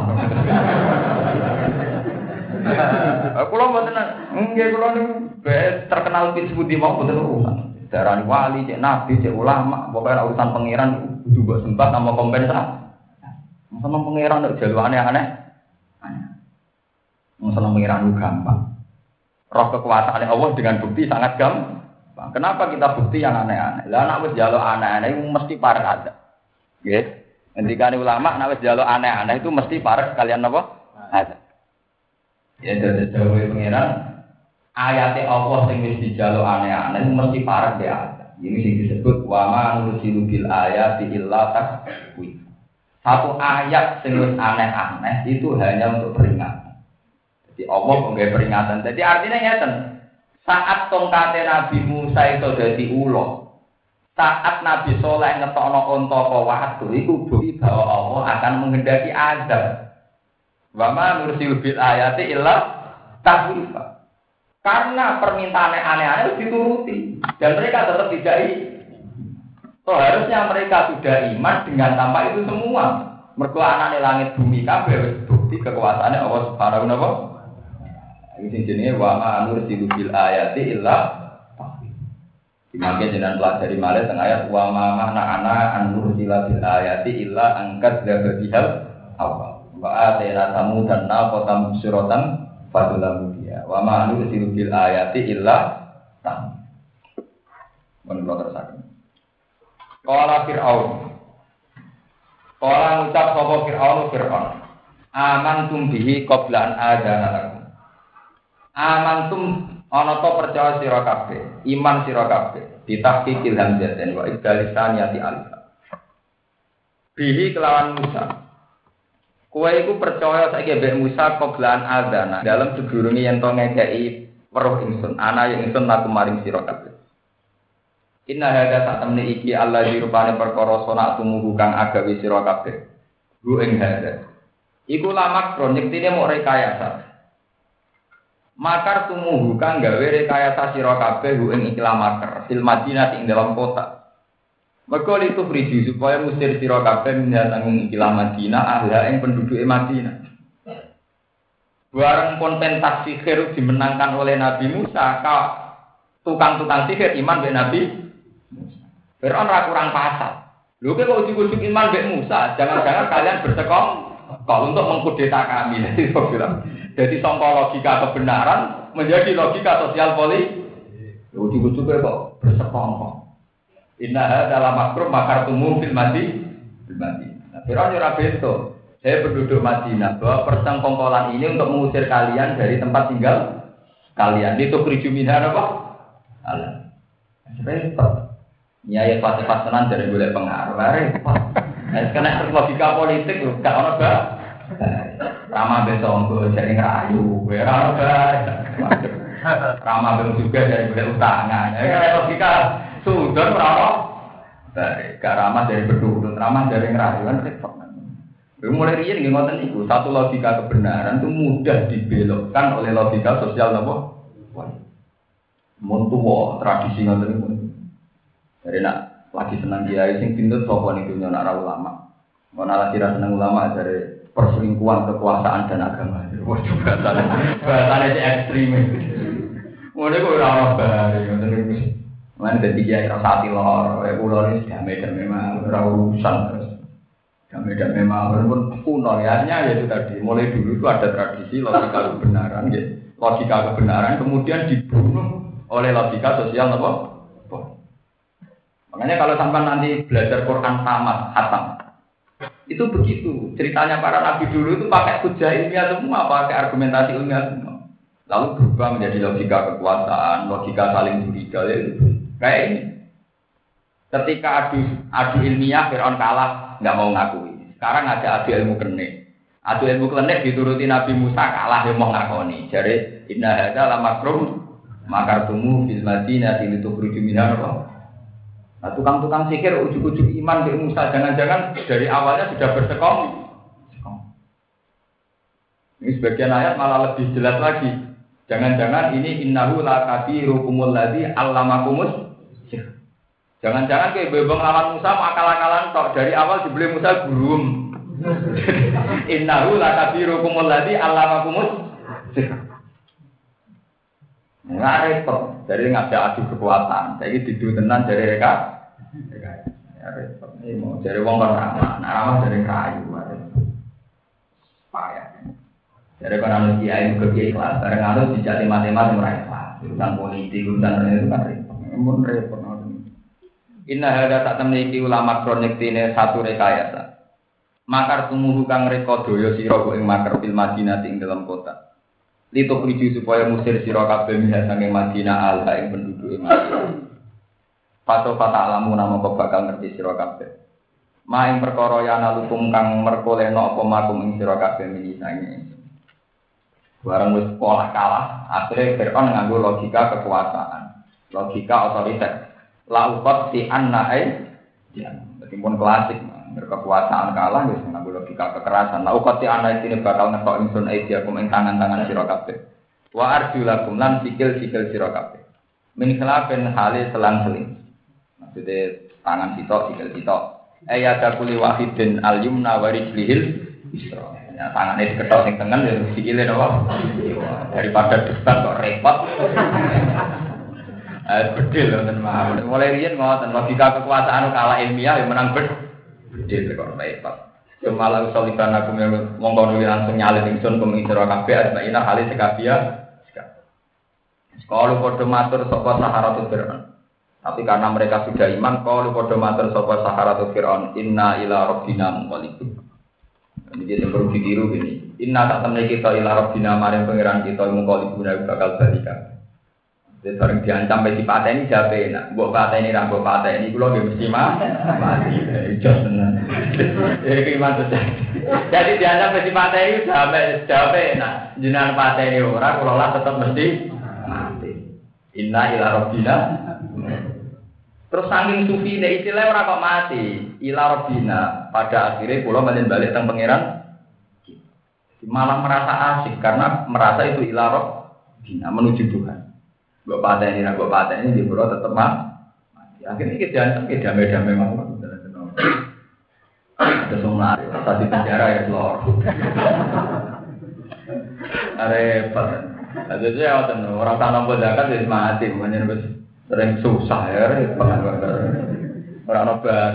Kula mboten nggih kula niku terkenal pit sepundi mau mboten urusan. Darani wali, cek nabi, cek ulama, pokoke urusan pangeran kudu mbok sembah sama kompensasi. Sama pangeran nek jalu aneh-aneh. Masalah pangeran itu gampang. Roh kekuasaan Allah dengan bukti sangat gampang. Kenapa kita bukti yang aneh-aneh? Lah nek wis njaluk aneh-aneh itu mesti parek ada. Nggih. Ngendikane ulama nek wis njaluk aneh-aneh itu mesti parek kalian napa? Ada. Ya dadi dawuhe pangeran ayate Allah sing wis dijaluk aneh-aneh itu mesti parek ya ada. Ini sing disebut wa ma nursilu bil ayati illa takwif. Satu ayat sing wis aneh-aneh itu hanya untuk peringatan. Jadi Allah nggawe peringatan. Jadi artinya ngeten. Saat tongkate Nabi Musa itu dadi ulo, saat Nabi Saleh ngetokno unta apa watu, iku bukti bahwa Allah akan menghendaki azab. Wa ma nursil bil ayati illa tahwifa. Karena permintaan aneh-aneh dituruti dan mereka tetap tidak i. So harusnya mereka sudah iman dengan tanpa itu semua. Mergo anane langit bumi kabeh wis bukti kekuasaane Allah Subhanahu wa taala. Ini jenenge wa ma nursilu bil ayati illa tahwif. Dimaksud jenengan pelajari malih teng ayat wa ma mana ana an nursila bil ayati illa angkat dzabihal awal. Wa atayna samudan naqatan suratan fadulamu dia. Wa ma nursilu bil ayati illa tahwif. Menurut terusaken. Qala Fir'aun. Qala ngucap sapa Fir'aun Fir'aun. Amantum bihi qabla an adzana lakum. Amantum ana to percaya sira kabeh, iman sira kabeh, ditahqiqil hamzatain wa ibdalisaniyati alif. Bihi kelawan Musa. Kowe iku percaya saiki mbek Musa qablan adzana, dalam sedurunge yen to ngekeki weruh ingsun, ana ing ingsun laku maring sira kabeh. Inna hadza satamne iki Allah dirupane perkara sona tumugu kang agawe sira kabeh. Ru ing hadza. Iku lamak proyektine mok rekayasa. Makar tumuhu kang gawe rekayasa sira kabeh hu ing ikhlas makar fil Madinah ing dalam kota. Mergo itu friji supaya musir sira kabeh menyang ikhlas Madinah ahla ing penduduke Madinah. Bareng konten sihir dimenangkan oleh Nabi Musa, ka tukang-tukang sihir iman be Nabi Musa. Fir'aun ra kurang pasal. Lho kok ujuk-ujuk iman be Musa, jangan-jangan kalian bersekong kalau untuk mengkudeta kami. Jadi sangka logika kebenaran menjadi logika sosial politik. Ujuk-ujuk kok bersekongkol. Inna dalam makrum makar tumum fil madi fil madi. Nah, Fir'aun ora beto. Saya penduduk Madinah bahwa persengkongkolan ini untuk mengusir kalian dari tempat tinggal kalian. Itu keriju minha apa? Allah. Repot. Nyai pas-pas tenan dari golek pengaruh. Repot. Nah, karena logika politik lho, gak ono ba. Rama besok untuk jadi ngerayu, ora bae. Rama belum juga dari golek utangan. Ya logika sudon ora ono. Baik, gak ramah dari berduduk, ramah dari ngerayu kan repot. Mulai riyen nggih ngoten niku, satu logika kebenaran itu mudah dibelokkan oleh logika sosial napa? Mun tuwa tradisi ngoten niku. Jadi nak lagi senang kiai sing pindut sapa niku nyonak ulama. Mun ala kira seneng ulama dari perselingkuhan kekuasaan dan agama. Wah, bahasane bahasane sing ekstrem. Mulai kok ora ono bare ngoten niku. Lan dadi kiai rasa ati lor, kaya kula iki damai-damai mah ora urusan terus. Damai-damai mawon pun kuno ya, ya itu tadi. Mulai dulu itu ada tradisi logika kebenaran, ya. Logika kebenaran kemudian dibunuh oleh logika sosial apa? Makanya kalau sampai nanti belajar Quran tamat, hatam, itu begitu. Ceritanya para nabi dulu itu pakai hujah ilmiah semua, pakai argumentasi ilmiah semua. Lalu berubah menjadi logika kekuasaan, logika saling curiga, ya itu. Kayak ini. Ketika adu adu ilmiah, Fir'aun kalah, nggak mau ngakui. Sekarang ada adu ilmu klenik. Adu ilmu klenik dituruti Nabi Musa kalah, dia mau ngakoni. Jadi inna hadza la makrum makartumu fil madinati litukhruju minha. Nah, tukang-tukang sikir ujuk-ujuk iman ke Musa, jangan-jangan dari awalnya sudah bersekong. Ini sebagian ayat malah lebih jelas lagi. Jangan-jangan ini innahu la kabirukumul ladzi allamakumus. Jangan-jangan kayak bebong lawan Musa akal-akalan tok, dari awal dibeli Musa gurum. Innahu la kabirukumul ladzi allamakumus. Nggak repot, jadi ngajak adu kekuatan. Jadi didu tenan dari mereka. Ya repot. Ini mau dari wong kan ramah, nah ramah dari kayu. Payah. Jadi kalau anu kiai ke kiai kelas, bareng anu dijati matematik mereka. Urusan politik, urusan itu kan repot. Mun repot. Inna hadza tak temniki ulama kronik tine satu rekayasa. Makar tumuhu kang reka daya sira ing makar fil Madinah ing dalam kota. Litu priju supaya musir sira kabeh minha sange Madinah alha ing penduduk Madinah. Pato fata alamu nama kok bakal ngerti sira kabeh. Ma ing perkara yana lukum kang merkoleno apa makum ing sira kabeh minisange. Barang wis pola kalah, akhire Fir'aun nganggo logika kekuasaan, logika otoriter. Laukot si annae, ya, meskipun klasik, berkekuasaan kalah, wis nganggo logika kekerasan. Laukot si annae ini bakal ngetok ingsun aidiakum ing tangan-tangan sira kabeh. Wa arjulakum lan sikil-sikil sira kabeh. Min khilafin hale selang-seling. Maksudnya tangan sitok, sikil sitok. Ayata kulli wahidin al-yumna wa rijlihil isra. Ya, tangannya diketok sing tengen ya sikile napa? Daripada debat kok repot. Eh bedil wonten mawon. Mulai riyen ngoten logika kekuasaan kalah ilmiah yang menang bedil kok repot. Semalah usulikan aku monggo langsung nyalin ingsun kuming sira kabeh asmaina hale sekabia. Kalau padha matur sapa Saharatul Fir'aun. Tapi karena mereka sudah iman, kalau padha matur sapa Saharatul Fir'aun, inna ila rabbina munqalibun. Ini dia perlu ditiru gini. Inna tak temne kita ila rabbina maring pangeran kita munqalibun bakal balikan. Jadi bareng diancam pe dipateni jape enak. Mbok pateni ra mbok pateni kula nggih mesti mati. Jos tenan. Iki manut. Jadi diancam pe dipateni jape jape enak. Jenengan pateni ora kula lah tetep mesti mati. Inna ila rabbina. Terus saking sufi nek istilah ora kok mati. Ila rabbina pada akhirnya kula balik balik teng pangeran malah merasa asik karena merasa itu ila rabbina menuju Tuhan. Mbok pateni ra mbok pateni di boro tetep mati. Akhirnya kita diancam ke damai-damai mawon. Ada semua tadi penjara ya lor. Repot. Ada dia orang tanam zakat wis mati, makanya wis sering susah ya repot. Ora nobar.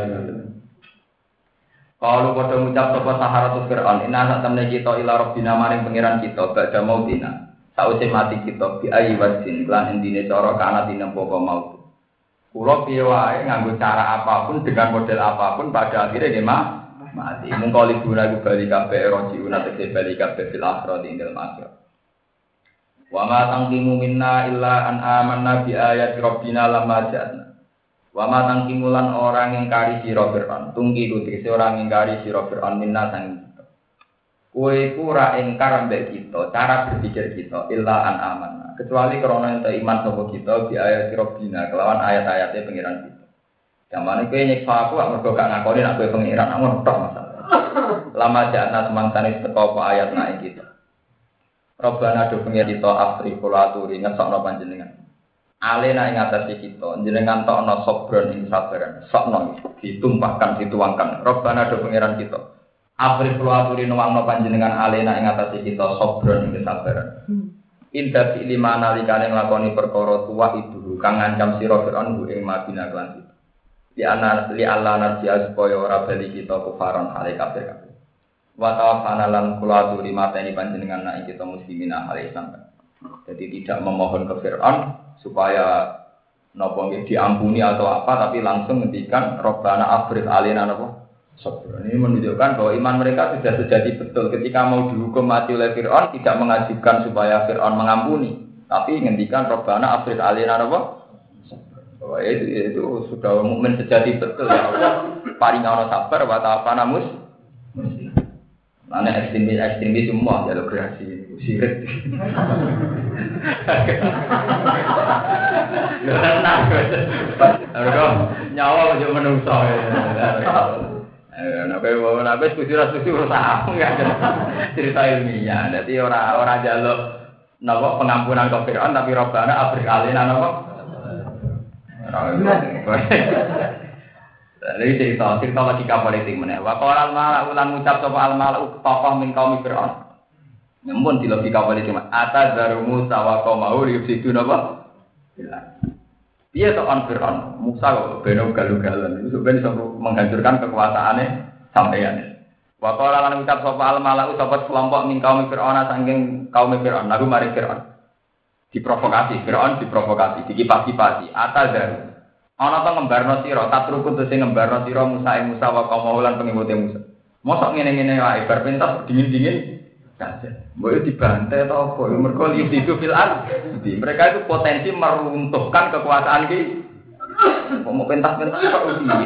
Kalau padha ngucap sapa Saharatul Fir'aun, inna sak temne kita ila rabbina maring pangeran kita badha mautina. Sause mati kita bi ayi wasin lan endine cara kana tinempo apa mau. Kula piye wae nganggo cara apapun dengan model apapun pada akhirnya nggih mati. Mung kali guna bali kabeh roji una tegese bali kabeh fil akhirati ing dalem akhirat. Wa ma tangkimu minna illa an amanna bi ayati rabbina lamma ja'na. Wa ma tangkimulan orang ingkari sira Fir'aun. Tunggi tegese orang ingkari sira Fir'aun minna sang kowe iku ora ingkar mbek kita, cara berpikir kita illa an amanna. Kecuali karena ente iman sapa kita bi ayati rabbina kelawan ayat-ayate pengiran kita. Jamane kowe nyiksa aku gak mergo gak ngakoni nek kowe pengiran ngono tok masalah. Lama jana semangtane teko apa ayat naik kita. Rabbana do pengen kita afri kula aturi ngesokno panjenengan. Alena ing atase kita, jenengan tokno sobron ing sabaran. Sokno ditumpahkan dituangkan. Rabbana do pengiran kita. Afri kula aturi nuwangno panjenengan alena ing atase kita sobron ing sabaran. Inda fi lima nalikane nglakoni perkara tuwa itu kang ngancam sira Fir'aun ing Madinah lan. Di anak li Allah narji'a supaya ora bali kita kufaron hale kafir kabeh. Wa tawafana lan kula aturi mateni panjenengan nek kita muslimin hale Islam. Jadi tidak memohon ke Fir'aun supaya napa nggih diampuni atau apa, tapi langsung ngendikan Rabbana afrigh alaina napa sabr. Ini menunjukkan bahwa iman mereka sudah sejati betul ketika mau dihukum mati oleh Fir'aun tidak mengajukan supaya Fir'aun mengampuni, tapi ngendikan Rabbana afrigh alaina napa sabr. Bahwa itu, itu sudah mukmin sejati betul ya Allah. Paringono sabar wa ta'afana mus. Mana ekstremis ekstremis semua jalur kreasi sirik. Karena harga nyawa aja menungso. Eh, nabe nabe setuju-setuju ora enggak cerita ilmiah. Dadi ora ora njaluk napa pengampunan ke Firaun tapi Rabbana afrigh alaina napa. Lalu cerita cerita logika politik mana? Wakal al-malau ulang ucap sopa al-malau tokoh min kaum Fir'aun. Namun di logika politik mana? Atas dari Musa wa kaum mau diusidu apa? Dia tokoh Fir'aun. Musa kok beno galu-galan. Itu sebenarnya bisa menghancurkan kekuasaannya sampeyan. Wakal al ucap sopa al-malau sopa kelompok min kaum Fir'aun saking kaum Fir'aun. Lalu mari Fir'aun diprovokasi. Fir'aun diprovokasi, dikipas-kipasi. Atas dari ana to ngembarno sira, tatruku te sing ngembarno sira Musa ing Musa wa kaum lan pengikute Musa. Mosok ngene-ngene wae bar pentas dingin-dingin saja. Mbok dibantai to apa? Mergo itu fil ard. Mereka itu potensi meruntuhkan kekuasaan ki. Mau pentas-pentas kok uji.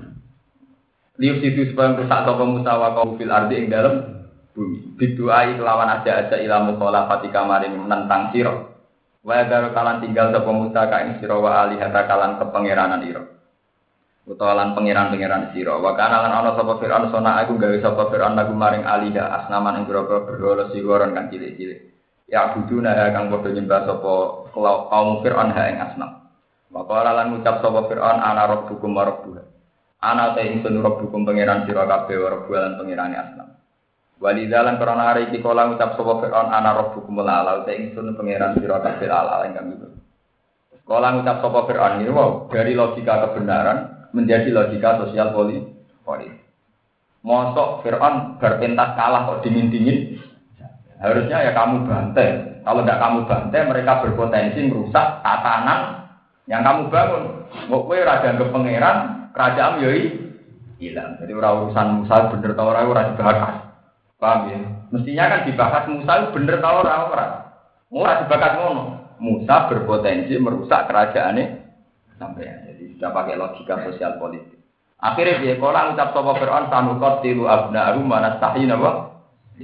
Lius itu supaya rusak sapa Musa wa kaum fil ard ing dalem bumi. Biduai kelawan aja-aja ilamu khalafati kamarin menentang sira. Wa daru kalan tinggal sapa Musa ka ing sira wa alihata kalan kepangeranan ira. Utawa lan pangeran-pangeran sira. Wa kana lan ana sapa Firaun sona aku gawe sapa Firaun lagu maring aliha asnaman ing groko berhala sigoron kan cilik-cilik. Ya buduna kang padha nyembah sapa kaum Firaun ha ing asnam. Wa qala lan ngucap sapa Firaun ana rabbukum wa rabbuha. Ana ta ingsun rabbukum pangeran sira kabeh wa rabbuha lan pangerane asnam. Walidalan karena hari iki kala ngucap sapa Firaun ana rabbukum ala ta ingsun pangeran sira kabeh ala ingkang itu. Kala ngucap sapa Firaun iki wow, dari logika kebenaran menjadi logika sosial politik. Mosok Firaun berpentas kalah kok dingin-dingin. Harusnya ya kamu bantai. Kalau tidak kamu bantai mereka berpotensi merusak tatanan yang kamu bangun. Kok kowe ora dianggap pangeran, kerajaan yo hilang. Jadi ora urusan Musa bener ta ora ora dibahas. Paham ya? Mestinya kan dibahas Musa bener tau ora ora. Ora dibahas ngono. Musa berpotensi merusak kerajaannya sampeyan. Jadi sudah pakai logika sosial politik. Akhirnya dia kala ngucap sapa Firaun sanukot tilu abna'u manastahina wa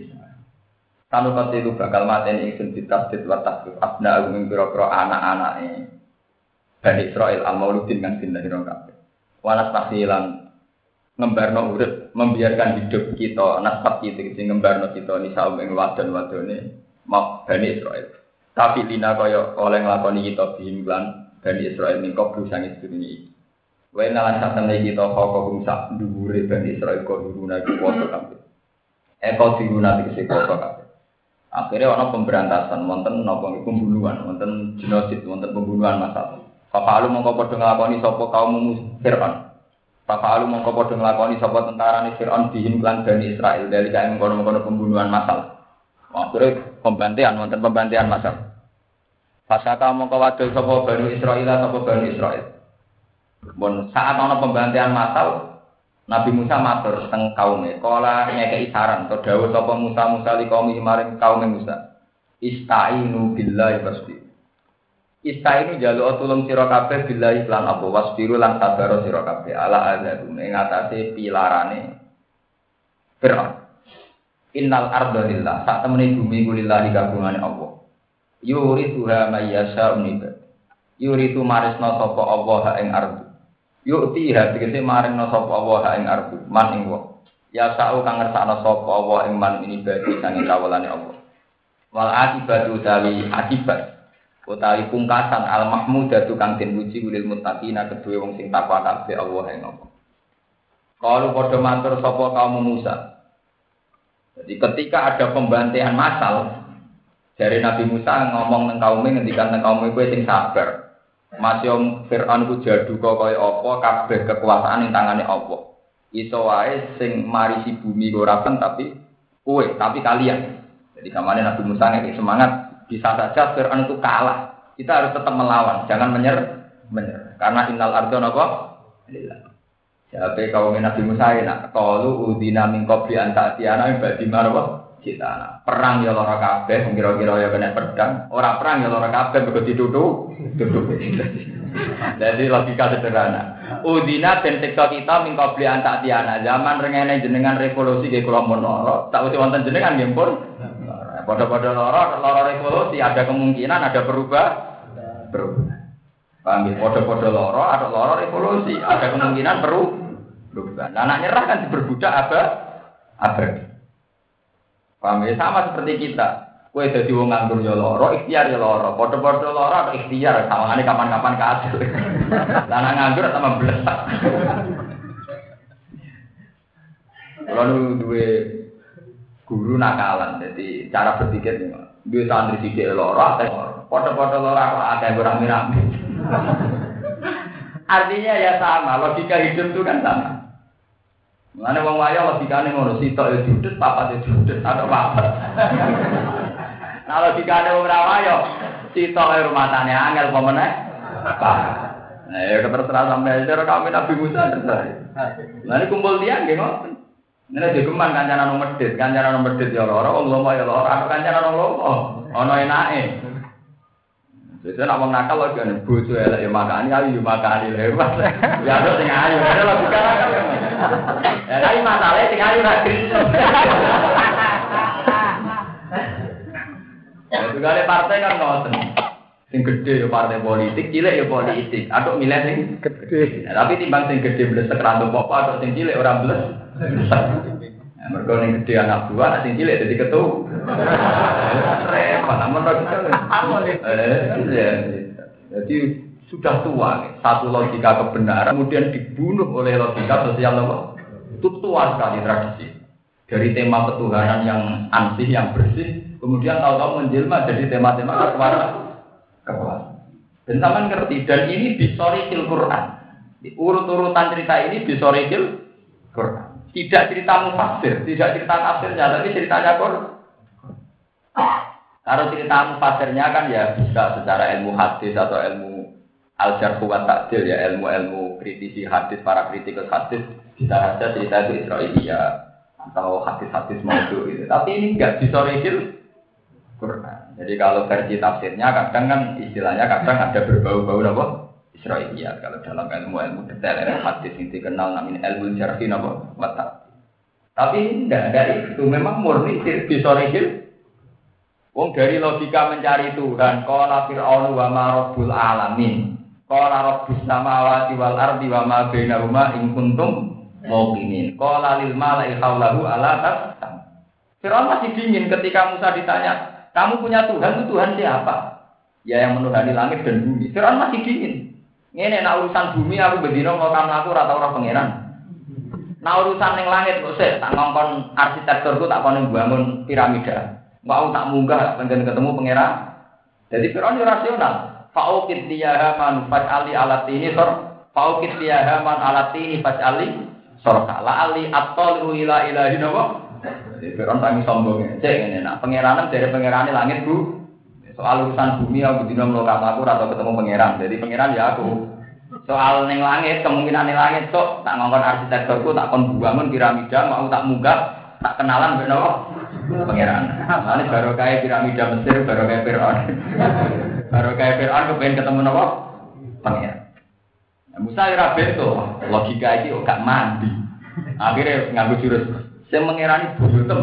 sanukot tilu bakal mateni ingsun ditasdid wa tasdid abna'u ing pira-pira anak-anake Bani Israil al-mauludin kang dinlahirno kabeh. Wa nastahilan ngembarno urip membiarkan hidup kita nasab kita sing ngembarno kita nisa ing wadon-wadone mak Bani Israil. Tapi lina kaya oleh nglakoni kita bihimlan Bani Israil ning kobru sang sedurunge iki. Wae nalan satemene kita kok sak dhuwure Bani Israil kok diruna iku foto kabeh. Eko diruna iki foto kabeh. Akhirnya ana pemberantasan wonten napa niku pembunuhan, wonten genosid, wonten pembunuhan massal. Fa'alu mongko padha nglakoni sapa kaum Fir'aun. Fa'alu mongko padha nglakoni sapa tentarane Fir'aun bihim lan Bani Israil dari kae mengkono-mengkono pembunuhan massal. Akhire pembantian wonten pembantian massal. Fasaka mongko wadul sapa Bani Israil sapa Bani Israil. Bon saat ana pembantian massal Nabi Musa matur teng kaume, kala ngekeki saran to dawuh sapa Musa Musa li kaum maring kaum Musa. Istainu billahi wasbir. Istainu jaluk tulung sira kabeh billahi lan apa wasbiru lan sabar sira kabeh ala azabum ing atase pilarane Fir'aun. Innal arda lillah, sak temene bumi ku lillahi kagungane Allah. Yurituha may yasha'u nibad. Yuritu marisna sapa Allah ing ardu. Yukti tegese maringna sapa Allah ing ardu, man ing wong. Ya sa'u kang ngersakna sapa Allah ing man ini bagi sange kawulane Allah. Wal akibatu tawi akibat utawi pungkasan al mahmudatu kang den puji lil muttaqina kedue wong sing takwa kabeh Allah ing Allah. Kalu padha matur sapa kaum Musa. Jadi ketika ada pembantaian massal dari Nabi Musa ngomong nang kaume ngendikan nang kaume kowe sing sabar. Masih Fir'aun ku jadu kok kaya apa kabeh kekuasaan ning tangane Allah. Iso wae sing marisi bumi ora kan tapi kowe, tapi kalian. Jadi kamane Nabi Musa ngeki semangat, bisa saja Fir'aun itu kalah. Kita harus tetap melawan, jangan menyerah. Menyerah. Karena innal ardha napa? Lillah. Siapa kaum Nabi Musa nak qalu udina min qabli an ta'tiyana ba'di marwa cita. Perang ya lara kabeh, kira-kira ya kena pedang. Ora perang ya lara kabeh mergo dituthuk, tuthuk. Jadi logika sederhana. Udina ben siksa kita min qabli an ta'tiyana. Zaman rengene jenengan revolusi nggih kula mun lara. Tak wis wonten jenengan nggih pun. Padha-padha lara, lara revolusi ada kemungkinan ada berubah. Berubah. Paham ya? Padha-padha lara, ada lara revolusi, ada kemungkinan perlu berubah. Nah, anak nyerah kan diperbudak apa? Abadi. Paham ya? Sama seperti kita. Kowe dadi wong nganggur ya lara, ikhtiar ya lara. Padha-padha lara atau ikhtiar, sawangane kapan-kapan kasil. Lah nek nganggur sama blesak. Lalu duwe guru nakalan, jadi cara berpikir nih, duwe santri sithik lara, padha-padha lara kok akeh rame-rame. Artinya ya sama, logika hidup itu kan sama. Mengenai wong waya logikane ngono, sitok ya judet, papat ya judet, atau papat. Nah logikane wong ra waya, sitok ya rumah tane angel apa meneh? Nah ya terserah sampeyan cara kami Nabi Musa terserah. Lah ini kumpul tiyang nggih ngoten. Nek digeman kancanan wong medhit, kancanan wong medhit ya lara, wong lomo ya lara, kancanan wong lomo ana enake. Biasanya nak wong nakal lho kan bojo elek ya makani, ayu ya makani lewat. Ya ada sing ayu, ada logika nakal. Ya tapi masalahnya sing ayu ra kriso. Ya juga ada partai kan ngoten. Sing gede ya partai politik, cilik ya politik. Atuk milih sing gede. Ya, tapi timbang sing gede blesek ra entuk apa, atuk sing cilik ora blesek. Ya mergo ning gede anak buah, sing cilik dadi ketua. Repot, namun jadi sudah tua, satu logika kebenaran kemudian dibunuh oleh logika sosial nomor itu tua sekali tradisi dari tema ketuhanan yang ansih yang bersih kemudian tahu-tahu menjelma jadi tema-tema kekuasaan. Dan sama ngerti dan ini bisorikil Quran. Urut-urutan cerita ini bisorikil Quran. Tidak cerita mufassir, tidak cerita tafsirnya, tapi ceritanya Quran. Kalau cerita mufassirnya kan ya bisa secara ilmu hadis atau ilmu al-jarh wa ta'dil ya ilmu-ilmu kritisi hadis para kritikus hadis bisa saja cerita itu Israiliyah atau hadis-hadis maudhu gitu. Tapi ini enggak disorikil Quran. Jadi kalau versi tafsirnya kadang kan istilahnya kadang ada berbau-bau apa? Israiliyah. Kalau dalam ilmu-ilmu detail ilmu hadis yang dikenal namanya ilmu jarh wa ta'dil. Tapi enggak ada itu memang murni disorikil. Wong dari logika mencari Tuhan, qala fir'aunu wa ma rabbul alamin. Qala rabbus samawati wal ardi wa ma bainahuma in kuntum muqinin. Qala lil mala'i haulahu ala tasam. Fir'aun masih dingin ketika Musa ditanya, "Kamu punya Tuhan, itu Tuhan siapa?" Ya yang menuhani langit dan bumi. Fir'aun masih dingin. Ngene nek urusan bumi aku bendina ngokam aku ora tau ora pangeran. Nek urusan ning langit kok sik tak ngongkon arsitekturku tak kono bangun piramida. Mau tak munggah pengen ketemu pangeran. Jadi Firaun rasional. Fa'ukit liyaha man fa'ali alatini sor. Fa'ukit liyaha man alatini fa'ali sor. La ali at-tolu ila ilahi nawa. Jadi Firaun sangi sombong. Cek ngene nak pangeranan dari pangerane langit Bu. Soal urusan bumi aku dina mlokam aku ora ketemu pangeran. Jadi pangeran ya aku. Soal ning langit kemungkinan ning langit sok tak ngongkon arsitekturku tak kon bangun piramida mau tak munggah tak kenalan mbek nawa. Pangeran. Ini baru kayak piramida Mesir, baru kayak Fir'aun. Baru kayak Fir'aun kepengen ketemu apa? Pangeran. Nah, Musa ora beto, logika iki gak mandi. Akhirnya nganggo jurus sing mengerani buyutem.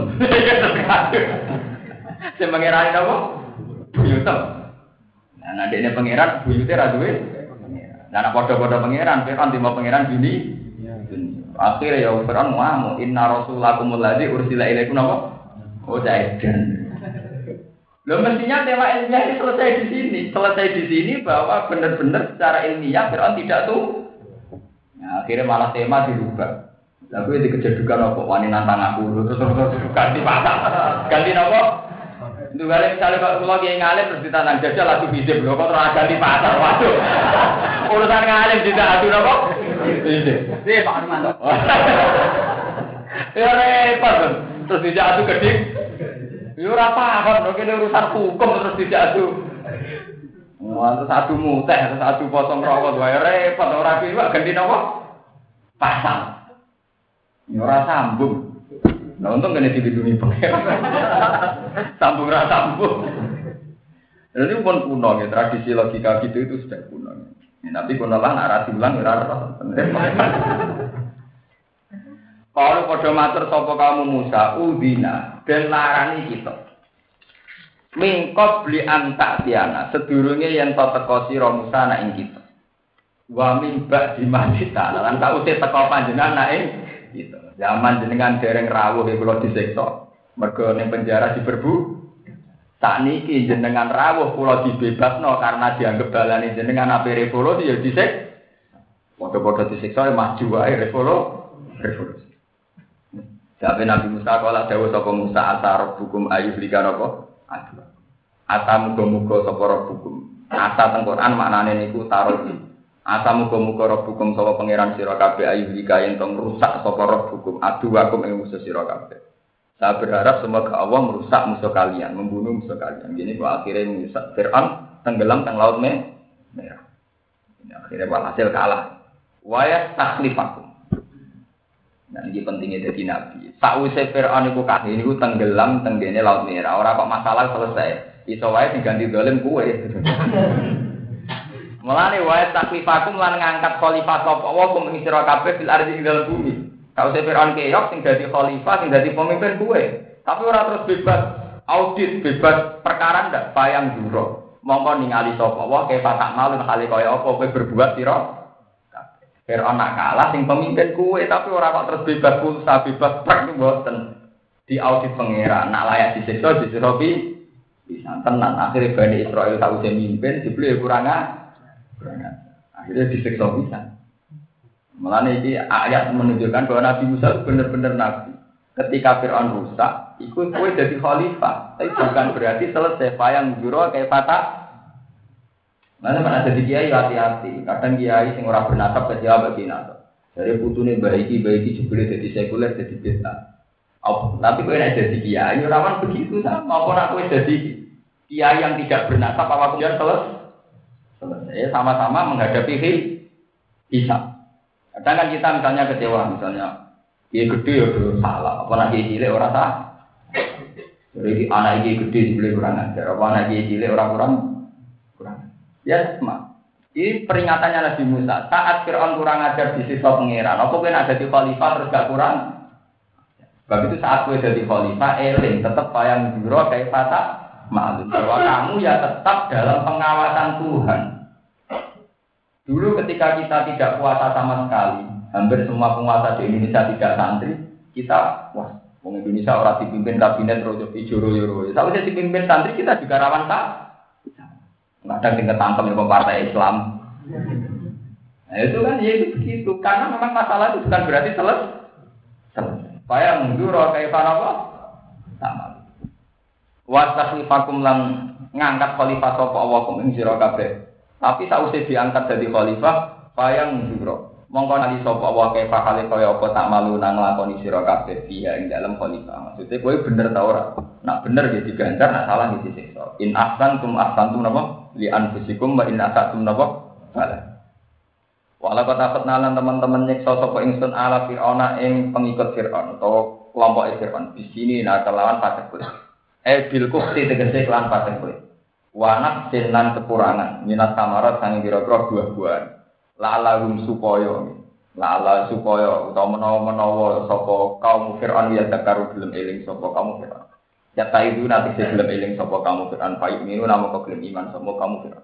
Sing mengerani apa? Buyutem. Nah, nek dene pangeran buyute ra duwe. Nah, nek padha-padha pangeran, Fir'aun timbang pangeran bini. Akhirnya ya Fir'aun ngomong, "Inna rasulakumul ladzi ursila ilaikum apa?" Oh, jaidan. Loh mestinya tema ilmiah ini selesai di sini. Selesai di sini bahwa benar-benar secara ilmiah Fir'aun tidak tuh. Nah, akhirnya malah tema dirubah. Lalu itu kejadukan apa? Wani nantang aku terus terus ganti pasang. Ganti apa? Itu kali misalnya Pak Kulo kiai ngalim terus ditanam jajal lagu bisip lho kok terus ganti pasar. Waduh. Urusan ngalim tidak adu napa? Bisip. Iya Pak Armanto. Ya repot. Terus dijak adu gedhe. Ya ora paham lho kene urusan hukum terus dijak adu. Wah, terus adu muteh, terus adu potong rokok wae repot ora piye ganti napa? Pasang. Ya ora sambung. Nah, untung kena dilindungi pengen. Sambung rasa sambung. Jadi pun kuno ya, tradisi logika gitu itu sudah kuno. Ya, tapi kuno lah, narasi ulang ya rara. Kalau pada matur sopo kamu Musa, udina dan larani kita. Mingkot beli antak tiana, sedurunge yang to teko sira Musa nak ing kita. Wa mimba di masjid lan tak usih teko panjenengan nak ing kita. Zaman jenengan dereng rawuh e kula disiksa. Mergo ning penjara diberbu. Sakniki jenengan rawuh kula dibebasno karena dianggap balane jenengan ape revolusi ya disik. Padha-padha disiksa maju wae revolusi. Revolusi. Sampai Nabi Musa kala dawuh sapa Musa asar hukum ayub likan apa? Aduh. Asa muga-muga sapa hukum. Asa teng Quran maknane niku taruh. Asa muga-muga rabbukum sapa pangeran sira kabeh ayu lika yen tong rusak sapa rabbukum adu wakum ing musuh sira kabeh. Saya berharap semoga Allah merusak musuh kalian, membunuh musuh kalian. Gini kok akhirnya merusak Fir'aun tenggelam teng laut merah. Ini akhirnya walhasil kalah. Wa yastakhlifakum. Nah ini pentingnya jadi nabi. Sakwise Fir'aun iku kabeh niku tenggelam teng dene laut merah. Ora kok masalah selesai. Iso wae diganti dolim kuwe. Mulane wae taklifakum lan ngangkat khalifah sapa wa kum ing sira kabeh fil ardi ing dalem bumi. Kau Fir'aun keok sing dadi khalifah sing dadi pemimpin kuwe. Tapi ora terus bebas audit, bebas perkara ndak bayang juro. Mongko ningali sapa wa kefa tak malu hale kaya apa kowe berbuat sira kabeh. Fir'aun nak kalah sing pemimpin kuwe tapi ora kok terus bebas pulsa, bebas prak mboten. Di audit pangeran nak layak disiksa disiksa bisa tenan akhirnya Bani Israil tak usah mimpin dibeli kurang akhirnya disiksa bisa. Malah ini ayat menunjukkan bahwa Nabi Musa benar-benar Nabi. Ketika Fir'aun rusak, ikut kue jadi khalifah. Tapi bukan berarti selesai. Payang juro kayak patah. Mana mana jadi kiai hati-hati. Kadang kiai sing ora bernasab kecewa bagi nasab. Dari putune baiki baiki jebule jadi sekuler jadi bid'ah. Oh, tapi kue nak jadi kiai, orang begitu sama. Maupun aku jadi kiai yang tidak bernasab, apa kemudian selesai. Selesai sama-sama menghadapi hisab. Kadang kan kita misalnya kecewa, misalnya dia gede ya udah salah, apa nak dia cilik orang salah. Jadi anak dia gede dibeli kurang ajar, apa anak dia cilik orang kurang kurang. Ya sama. Ini peringatannya Nabi Musa. Saat Fir'aun kurang ajar di sisi pangeran, apa kena ada di khalifah terus gak kurang? Sebab itu saat gue jadi khalifah, eling tetap bayang juro kayak patah malu. Bahwa kamu ya tetap dalam pengawasan Tuhan. Dulu ketika kita tidak puasa sama sekali, hampir semua penguasa di Indonesia tidak santri, kita, wah, orang Indonesia orang dipimpin kabinet rojo ijoro yoro. Kalau saya dipimpin santri kita juga rawan tak? Kadang tinggal tangkap di partai Islam. Nah itu kan ya itu begitu, karena memang masalah itu bukan berarti selesai. Supaya menjuro kayak apa? Sama. Wastakhlifakum lan ngangkat khalifah sapa Allah kum ing sira kabeh. Tapi sausé diangkat dadi khalifah, bayang juro. Mongko nali sapa Allah kaya hale kaya apa tak malu nang nglakoni sira kabeh dia ing dalem khalifah. Maksudnya kowe bener ta ora? Nak bener ya diganjar, nak salah ya disiksa. In ahsantum ahsantum napa? Li anfusikum wa in asatum napa? Salah. Walau kata petnalan teman-teman nyeksa sapa ingsun ala Fir'auna ing pengikut Fir'aun atau kelompok Fir'aun. Di sini nah kelawan pasek kulit. Eh bil kufti tegese kelawan pasek kulit. Wanak sinan kekurangan minat samarat sang kira-kira buah-buahan. Lalahum supaya lala supaya utawa menawa-menawa sapa kaum Fir'aun ya takaru gelem eling sapa kaum Fir'aun. Ya ta itu nanti gelem eling sapa kaum Fir'aun baik minu namo gelem iman sapa kaum Fir'aun.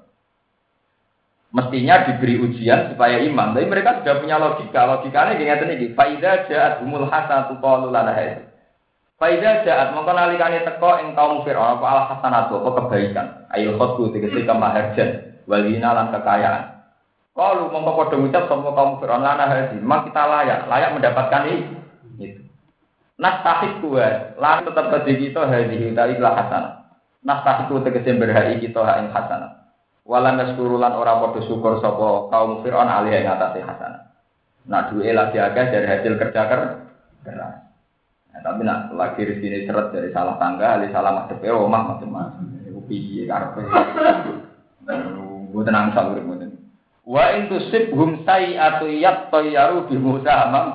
Mestinya diberi ujian supaya iman. Tapi mereka sudah punya logika. Logikanya gini ngeten iki. Faida ja'at humul hasanatu qalu lana hadza. Faida ja'at mongko nalikane teko ing kaum Firaun apa al hasanatu apa kebaikan. Ail khotbu tegese kemaharjan walina lan kekayaan. Qalu mongko padha ngucap sapa kaum Firaun lana hadza. Mak kita layak, layak mendapatkan itu. Nas tahik kuat, lan tetap kedhi kita hadhi utawi hasanah. Nastah itu tegese berhai kita hak ing hasanah. Walan naskurulan ora padha syukur sapa kaum Fir'aun alih ing atase hasanah. Nak duwe lagi akeh dari hasil kerja keras. Nah, tapi nak lagi rezeki seret dari salah tangga, ali salah madhepe omah macam-macam. Iku piye karepe. Mboten nang sak urip mboten. Wa in tusibhum sayi'atu yattayyaru bi Musa amam.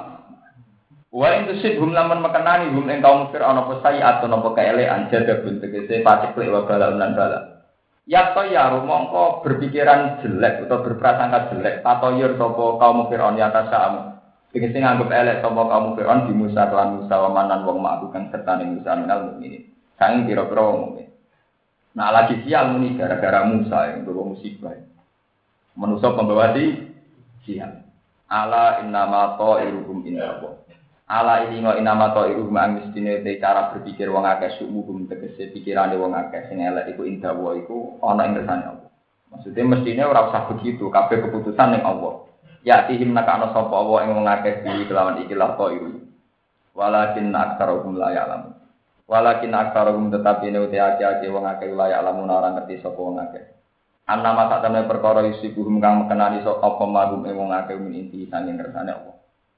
Wa in tusibhum lamun mekenani hum ing kaum Fir'aun apa sayi'atu napa kaelekan jadabun tegese paciklek wa bala lan bala. Yattayyaru mongko berpikiran jelek atau berprasangka jelek tatoyur sapa kaum Fir'aun ya tasam. Tegese nganggep elek sapa kaum Fir'aun di Musa lan Musa wa manan wong ma'bukan serta ning Musa minal mukminin. Saking pira-pira wong mukmin. Nah lagi sial muni gara-gara Musa yang bawa musibah. Manusia pembawa di sial. Ala innama ta'iruhum inna. Ala ini ngo innama ta'iruhum angistine te cara berpikir wong akeh sumuhum tegese pikirane wong akeh sing elek iku indah wa iku ana ing kersane Allah. Maksudnya mestine ora usah begitu, kabeh keputusan ning Allah. Ya tihim nakana sapa Allah ing wong akeh iki kelawan iki la ta'iru. Walakin aktsaruhum la ya'lamun. Walakin aktsaruhum tetapi ne uti ake-ake wong akeh la ya'lamun ora ngerti sapa wong akeh. Ana masa temne perkara isibuhum kang mekenani sapa apa magum ing wong akeh min inti sanging kersane Allah.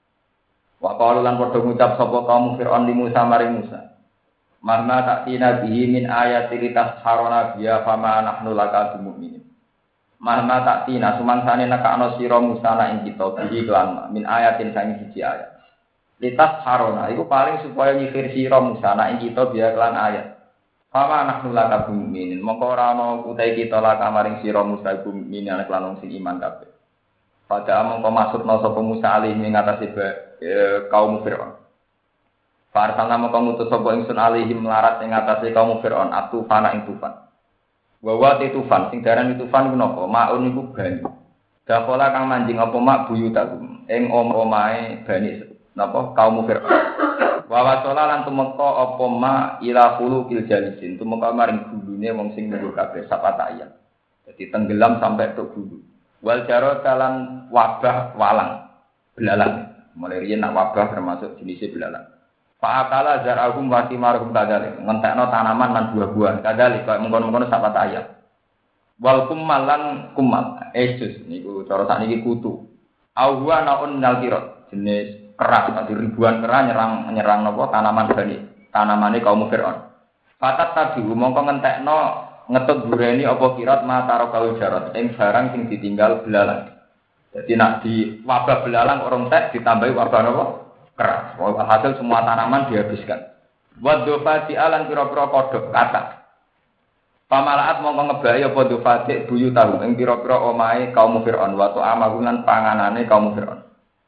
Wa qalu lan padha ngucap sapa kaum Fir'aun li Musa maring Musa. Marna ta'tina bihi min ayati litasharona biya fama nahnu laka bimu'minin. Marna ta'tina sumangsane nekakno sira Musa na ing kita bihi lan min ayatin sanging siji ayat. Litasharona iku paling supaya nyifir sira Musa na ing kita biya lan ayat. Fama nahnu laka bimu'minin. Mongko ora ana utahe kita laka maring sira Musa bimu'minin lan lan sing iman kabeh. Pada mongko maksudna sapa Musa alih ing atase kaum Fir'aun. Farsalna mongko ngutus sapa ingsun alihim melarat ing atase kaum Fir'aun atufana ing tufan. Wa wa tufan sing diarani tufan iku napa? Maun iku banyu. Dapola kang manjing apa mak buyutagum ing omahe bani napa kaum Fir'aun. Wa wasala lan tumeka apa mak ila khulukil jalisin tumeka maring gulune wong sing nunggu kabeh sapata ayat. Jadi tenggelam sampai tok gulu. Wal jarot kalan wabah walang belalang. Mulai riyen nak wabah termasuk jenisnya belalang. Fa'akala zar'ahum wa thimaruhum kadalik. Ngentekno tanaman lan buah-buahan kadalik kaya mengkono-mengkono sahabat ayat. Wal kummal lan kummal. Esus niku cara sakniki kutu. Awwa naun minal kirot. Jenis keras, nanti ribuan keras nyerang nyerang napa tanaman bani. Tanamane kaum Fir'aun. Fatat tadi mongko ngentekno ngetut bureni apa kirot mataro kaul jarot. Ing barang sing ditinggal belalang. Jadi nak di wabah belalang orang tek ditambahi wabah apa? Keras. Hasil semua tanaman dihabiskan. Wa dhufati alan pira-pira kodhok kata. Pamalaat mongko ngebahi apa dhufati buyu tahu ing pira-pira omahe kaum Fir'aun wa ta'amalan panganane kaum Fir'aun.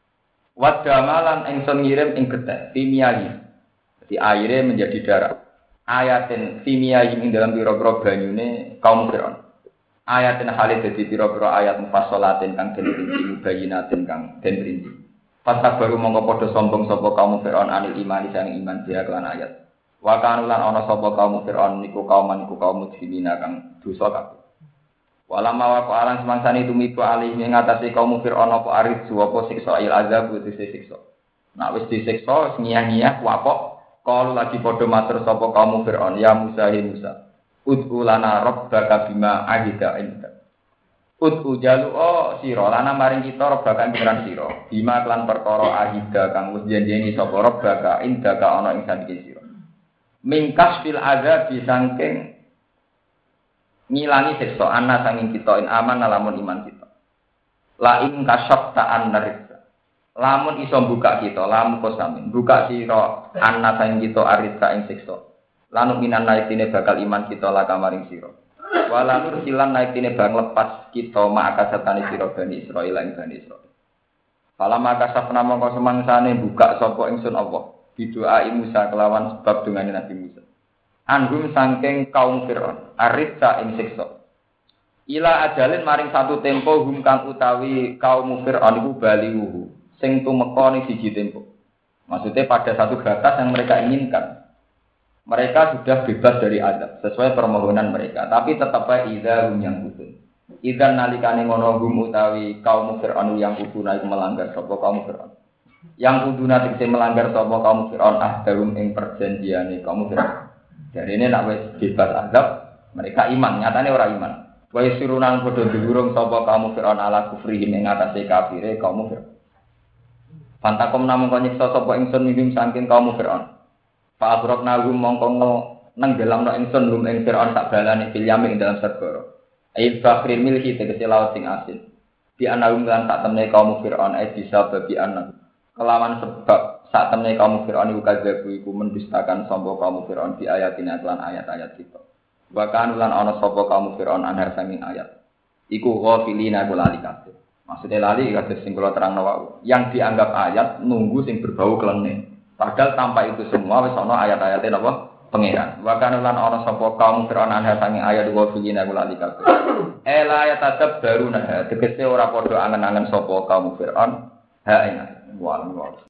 Wa damalan ingsun ngirim ing gethek timiyahi. Jadi airnya menjadi darah. Ayatin timiyahi ing dalam pira-pira banyune kaum Fir'aun. Ayatin halid dadi pira-pira ayat mufassalatin kang den rinci mubayyinatin kang den rinci. Pasal baru mongko padha sombong sapa kaum Fir'aun anil iman sang iman dia kelan ayat. Wa kanulan ana sapa kaum Fir'aun niku kaum niku kaum mujrimina kang dosa kabeh. Walama wa qalan semangsane tumiku alih ing ngatasi kaum Fir'aun apa arid apa siksa il azab wis siksa. Nek wis disiksa ngiyah-ngiyah kuapok kalau lagi padha matur sapa kaum Fir'aun ya Musa hi Musa. Ud'u lana rabbaka bima ahida inda. Ud'u jalu oh sira lana maring kita rabbaka pengiran sira. Bima kelan perkara ahida kang wis janjeni sapa rabbaka inda ka ana ing sandike sira. Mingkas fil azab disangking ngilangi siksa ana sanging kita in aman lamun iman kita. La ing kasyafta annarisa. Lamun iso buka kita, lamun kosamin buka sira ana sanging kita arisa ing siksa. Lanu minan naikine bakal iman kita la kamaring sira. Wala nur silan naikine bang lepas kita maka setane sira Bani Israil lan Bani Israil. Fala maka sapna mongko semangsane buka sapa ingsun Allah. Bidoa Musa kelawan sebab dungane Nabi Musa. Anggum saking kaum Fir'aun, arisa ing siksa. Ila ajalin maring satu tempo hum kang utawi kaum Fir'aun iku balihu sing tumeka ning siji tempo. Maksudnya pada satu batas yang mereka inginkan. Mereka sudah bebas dari azab sesuai permohonan mereka, tapi tetap aja idza hum yang kutun. Idza nalikane ngono hum utawi kaum Fir'aun yang kuduna iku melanggar sapa kaum Fir'aun. Yang kuduna tegese melanggar sapa kaum Fir'aun ahdarum ing perjanjiane kaum Fir'aun. Jadi ini nak wis bebas azab, Mereka iman, nyatane ora iman. Wa yasirunan padha diurung sapa kaum Firaun ala kufrihi ing atase kafire kaum Firaun. Pantakom namung kok nyiksa sapa ingsun mimim saking kaum Firaun. Fa abrokna gum mongko nenggelamno ingsun lum ing Firaun sak balane filyami ing dalam segara. Ai bakril milhi tegese laut sing asin. Di anawum lan sak temne kaum Firaun ai bisa babi anak. Kelawan sebab sak temne kaum Firaun iku kadhebu iku mendustakan sapa kaum Firaun di ayatina lan ayat-ayat kita. Wa kan lan ana sapa kaum Firaun anar sanging ayat. Iku ghafilina kula kabeh. Maksudnya lali kados sing kula terangno wau. Yang dianggap ayat nunggu sing berbau kelene. Padahal tanpa itu semua wis ana ayat-ayate napa? Pengiran. Wa kan lan ana sapa kaum Firaun anar sanging ayat ghafilina kula kabeh. Ela ayat tetep baru nah tegese ora padha angen-angen sapa kaum Firaun. Ha ing wa